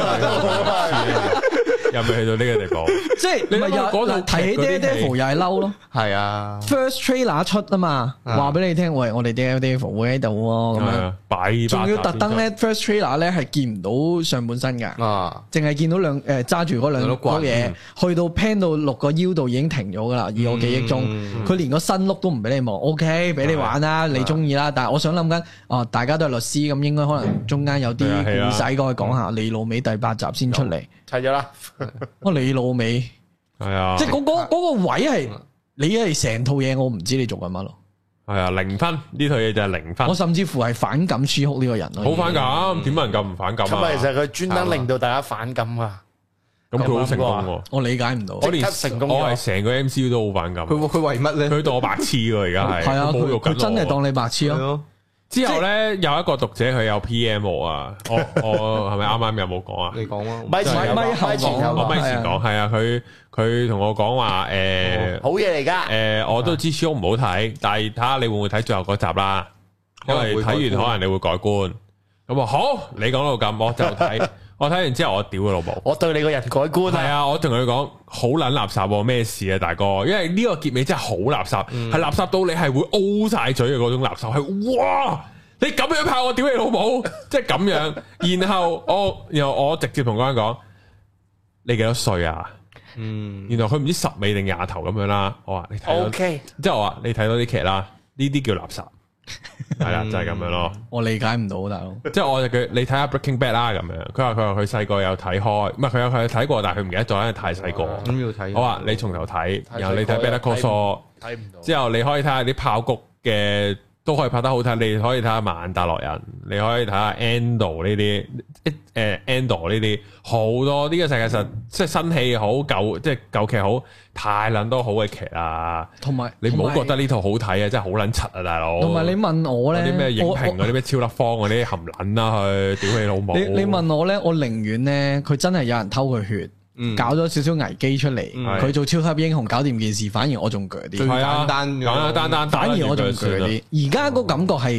又未去到呢個地步， 即係你咪又睇起 Daredevil 又係嬲咯， 係啊 ，First trailer 出啊嘛，話俾你聽，喂，我哋 Daredevil 會喺度喎，咁樣擺，仲要特登咧 First trailer 咧係見唔到上半身噶，啊，淨係見到兩誒揸住嗰兩碌嘢，去到 pan 到六個腰度已經停咗噶啦，以我記憶中，佢連個新碌都唔俾你望 ，OK，俾你玩啦，你中意啦，但係我想諗緊，哦，大家都係律師，咁應該可能中間有啲故仔過去講下，李老尾第八集先出嚟， 齊咗啦。 我李老尾係啊， 即係嗰嗰嗰個位係你係成套嘢，我唔知你做緊乜咯。 係啊，零分呢套嘢就係零分。 我甚至乎係反感書哭呢個人咯。 好反感，點能夠唔反感啊？ 咁其實佢專登令到大家反感啊。 咁佢好成功喎， 我理解唔到。 我連成功，我係成個 M C U 都好反感。 佢佢為乜咧？ 佢當我白痴喎，而家係。 係啊，佢佢真係當你白痴咯。 之後咧有一個讀者佢有 P M 我啊，我我係咪啱啱有冇講啊？ 你講啊， 咪前咪後講， 我咪前講係啊，佢佢同我講話誒， 好嘢嚟噶， 誒，我都知書唔好睇，但係睇下你會唔會睇最後嗰集啦，因為睇完可能你會改觀。咁啊好，你講到咁，我就睇，我睇完之後我屌佢老母， 我對你個人改觀係啊，我同佢講好撚垃圾，咩事啊大哥？因為呢個結尾真係好垃圾，係垃圾到你係會 O 晒嘴嘅嗰種垃圾，係哇！你咁樣拍我屌你老母，即係咁樣。然後我，然後我直接同嗰人講：你幾多歲啊？嗯，然後佢唔知十尾定廿頭咁樣啦。我話你睇到，OK，即係我話你睇到啲劇啦，呢啲叫垃圾，係啦，就係咁樣咯。我理解唔到大佬，即係我就佢你睇下 Breaking Bad 啦咁樣。佢話佢話佢細個有睇開，唔係佢有佢有睇過，但係佢唔記得咗，因為太細個。咁要睇。我話你從頭睇，然後你睇 Better Call Saul，睇唔到。之後你可以睇下啲爆谷嘅。都可以拍得好睇，你可以睇下曼達洛人，你可以睇下 Andor 呢啲，誒 Andor 呢啲好多呢個世界上即係新戲好舊，即係舊劇好，太撚多好嘅劇啊！同埋你唔好覺得呢套好睇啊，真係好撚柒啊，大佬！同埋你問我咧，啲咩影評嗰啲咩超粒方嗰啲含撚啦，去屌你老母！你你問我咧，我寧願咧佢真係有人偷佢血。嗯、搞咗少少危機出嚟，佢、嗯、做超級英雄搞掂件事，反而我仲鋸啲，最簡單簡簡單單，反而我仲鋸啲。而家個感覺係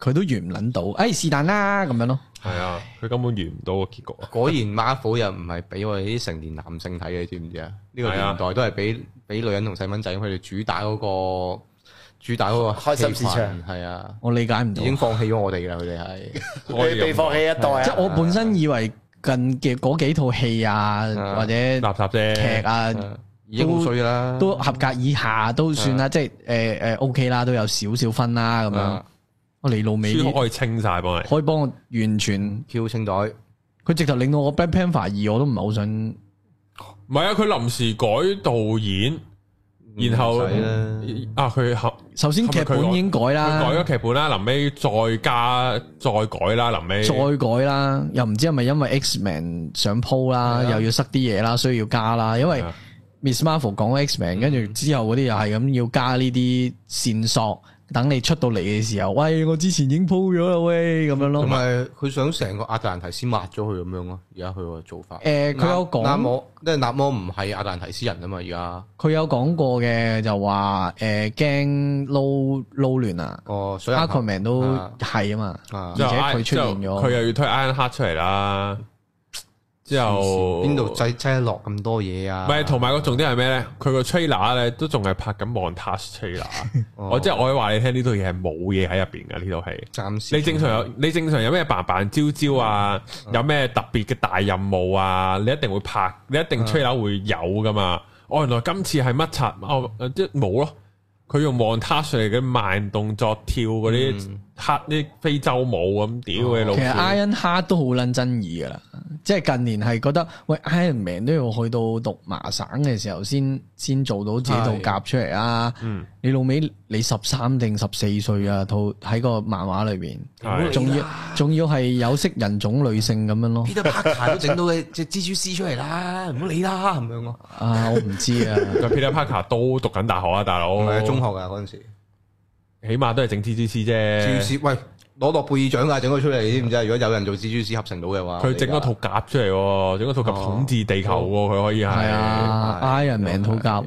佢都完唔捻到，誒是但啦咁樣咯。 係啊，佢根本完唔到個結局啊！ 果然 Marvel 又唔係俾我哋啲成年男性睇嘅，你知唔知啊？呢個年代都係俾俾女人同細蚊仔，佢哋主打嗰個主打嗰個開心市場。 係啊， 我理解唔到， 已經放棄咗我哋啦，佢哋係被被放棄一代啊！ 即係我本身以為近嘅嗰幾套戲啊，或者垃圾啫劇啊， 已經好衰啦， 都合格以下都算啦，即係誒誒 OK 啦，都有少少分啦咁樣。我嚟路尾可以清晒幫你， 可以幫我完全票清袋。 佢直頭令到我 Black Panther 二我都唔係好想。 唔係啊，佢臨時改導演，然後啊佢首先劇本已經改啦， 佢改咗劇本啦，臨尾再加再改啦，臨尾再改啦，又唔知係咪因為 X-Men 想鋪啦，又要塞啲嘢啦，所以要加啦，因為 Miss Marvel 講 X-Men， 跟住之後嗰啲又係咁要加呢啲線索。等你出到嚟嘅時候，喂，我之前已經鋪咗啦，喂，咁樣咯。同埋佢想成個亞特蘭提斯抹咗佢咁樣咯，而家佢個做法。 誒，佢有講，納摩， 因為納摩唔係亞特蘭提斯人啊嘛，而家。佢有講過嘅，就話誒驚撈撈亂啊。 哦， 所以 Aquaman 都係啊嘛，而且佢出現咗， 佢又要推 Ironheart 出嚟啦。之後邊度擠擠得落咁多嘢啊？ 唔係，同埋個重點係咩咧？佢個 trailer 咧都仲係拍緊 montage trailer。我即係我可以話你聽，呢套嘢係冇嘢喺入邊嘅呢套戲。暫時你正常有你正常有咩扮扮招招啊？有咩特別嘅大任務啊？你一定會拍，你一定 trailer 會有噶嘛？哦，原來今次係乜柒？哦，即係冇咯。佢用 montage 嚟嘅慢動作跳嗰啲黑啲非洲舞咁屌嘅老。其實 Ironheart 都好撚爭議噶啦，即係近年係覺得喂 Iron Man 都要去到讀麻省嘅時候先先做到自己套甲出嚟啊！嗯、你老尾你十三定十四歲啊，套喺個漫畫裏邊，仲要仲要係有色人種女性咁樣咯。 Peter Parker 都整到嘅隻蜘蛛絲出嚟啦，唔好理啦咁樣咯。 啊，我唔知啊。 Peter Parker 都讀緊大學啊，大佬。 係中學噶嗰陣時， 起碼都係整蜘蛛絲啫。 蜘蛛絲喂，攞諾貝爾獎啊，整咗出嚟，你知唔知啊？如果有人做蜘蛛絲合成到嘅話， 佢整咗套甲出嚟，整咗套甲統治地球，佢可以係。係啊 ，Iron Man 套甲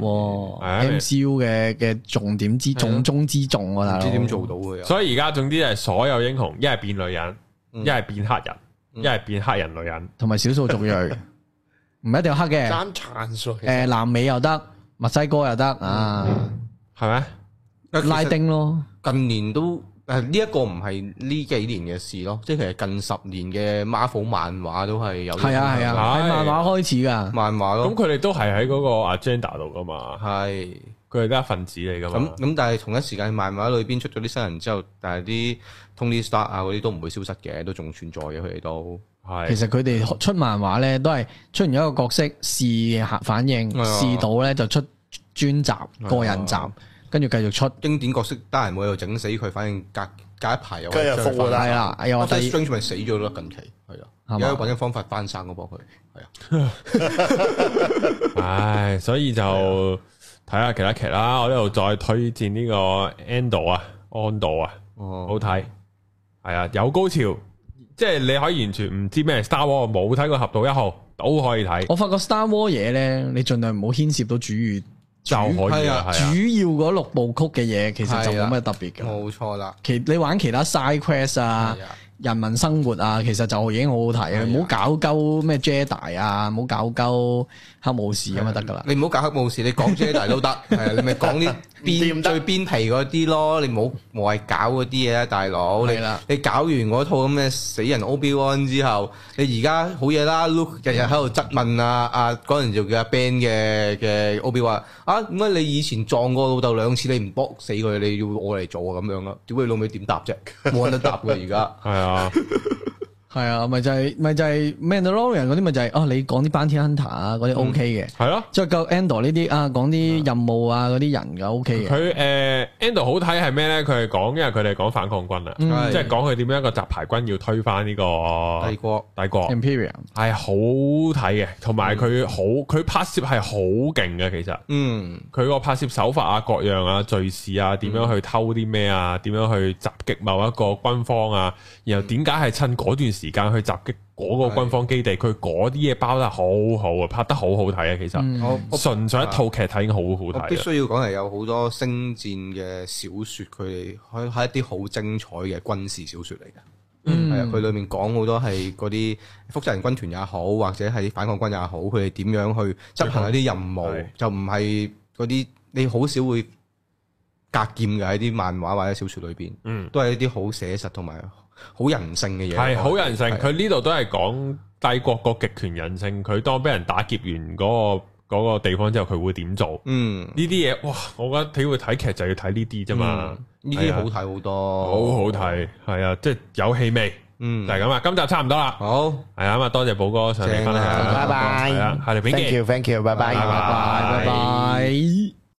，M C U 嘅嘅重點之重中之重啊，大佬。 唔知點做到嘅。 所以而家總之係所有英雄，一係變女人，一係變黑人，一係變黑人女人， 同埋少數族裔，唔一定要黑嘅。 爭殘數。 誒，南美又得，墨西哥又得啊， 係咩？ 拉丁咯， 近年都誒呢一個唔係呢幾年嘅事咯，即係其實近十年嘅 Marvel 漫畫都係有。 係啊係啊，係漫畫開始噶， 漫畫咯。 咁佢哋都係喺嗰個 agenda 度噶嘛，係佢哋都係一份子嚟噶嘛。 咁咁但係同一時間漫畫裏邊出咗啲新人之後，但係啲 Tony Stark 啊嗰啲都唔會消失嘅，都仲存在嘅，佢哋都係。其實佢哋出漫畫咧，都係出現一個角色試反應，試到咧就出專集個人集。跟住繼續出經典角色，得閒冇又整死佢，反正隔隔一排又跟住復活係啦，又話第 Strange 咪死咗咯，近期係啊，而家揾緊方法翻生嗰幫佢係啊， 唉，所以就睇下其他劇啦。我呢度再推薦呢個 Andor 啊，安道啊，哦，好睇，係啊，有高潮，即係你可以完全唔知咩 Star Wars 冇睇過俠盜一號都可以睇。 我發覺 Star Wars 嘢咧，你盡量唔好牽涉到主語。 就可以啊， 主要嗰六部曲嘅嘢，其實就冇乜特別嘅。 冇錯啦， 其你玩其他 side quest 啊。人民生活啊，其實就已經好好睇啊！唔好搞鳩咩 Jedi 啊，唔好搞鳩黑武士咁就得噶啦。 你唔好搞黑武士，你講 Jedi 都得，係啊，你咪講啲邊最邊皮嗰啲咯。你唔好無謂搞嗰啲嘢啦，大佬。你你搞完嗰套咁嘅死人 Obi-Wan 之後，你而家好嘢啦 ，Luke 日日喺度質問啊啊嗰陣就叫阿 Ben 嘅嘅 Obi-Wan啊，點解你以前撞過老豆兩次，你唔搏死佢，你要我嚟做啊咁樣咯？屌你老味點答啫？冇人得答嘅而家。係啊。啊， 係啊，咪就係、是、咪就係 Mandalorian 嗰啲咪就係、是、哦，你講啲 Bounty Hunter 啊嗰啲 OK 嘅，係咯、嗯，再夠 Andor 呢啲啊，講啲任務啊嗰啲人嘅 OK 嘅。佢誒、 呃、Andor 好睇係咩咧？佢係講，因為佢哋講反抗軍啊，嗯、即係講佢點樣一個雜牌軍要推翻呢個帝國帝國 Imperium 係好睇嘅，同埋佢好佢拍攝係好勁嘅，其實，嗯，佢個拍攝手法啊，各樣啊，敘事啊，點樣去偷啲咩啊，點樣去襲擊某一個軍方啊，然後點解係趁嗰段時間去襲擊嗰個軍方基地，佢嗰啲嘢包得好好啊，拍得好好睇啊！其實我純粹一套劇睇已經好好睇。必須要講係有好多星戰嘅小説，佢哋係係一啲好精彩嘅軍事小説嚟嘅。嗯，係啊，佢裏面講好多係嗰啲複製人軍團也好，或者係啲反抗軍也好，佢哋點樣去執行一啲任務，嗯、就唔係嗰啲你好少會格劍嘅喺啲漫畫或者小説裏邊。嗯，都係一啲好寫實同埋好人性嘅嘢。係好人性，佢呢度都係講帝國個極權人性。佢當俾人打劫完嗰、嗰個。嗰個地方之後佢會點做？嗯，呢啲嘢哇，我覺得體會睇劇就要睇呢啲啫嘛。 呢啲好睇好多， 好好睇，係啊，即係有氣味。嗯，就係咁啊。今集差唔多啦。好，係啊，咁啊，多謝寶哥上嚟分享。 拜拜。 係啊，下條片見。 Thank you，Thank you，拜拜，拜拜，拜拜。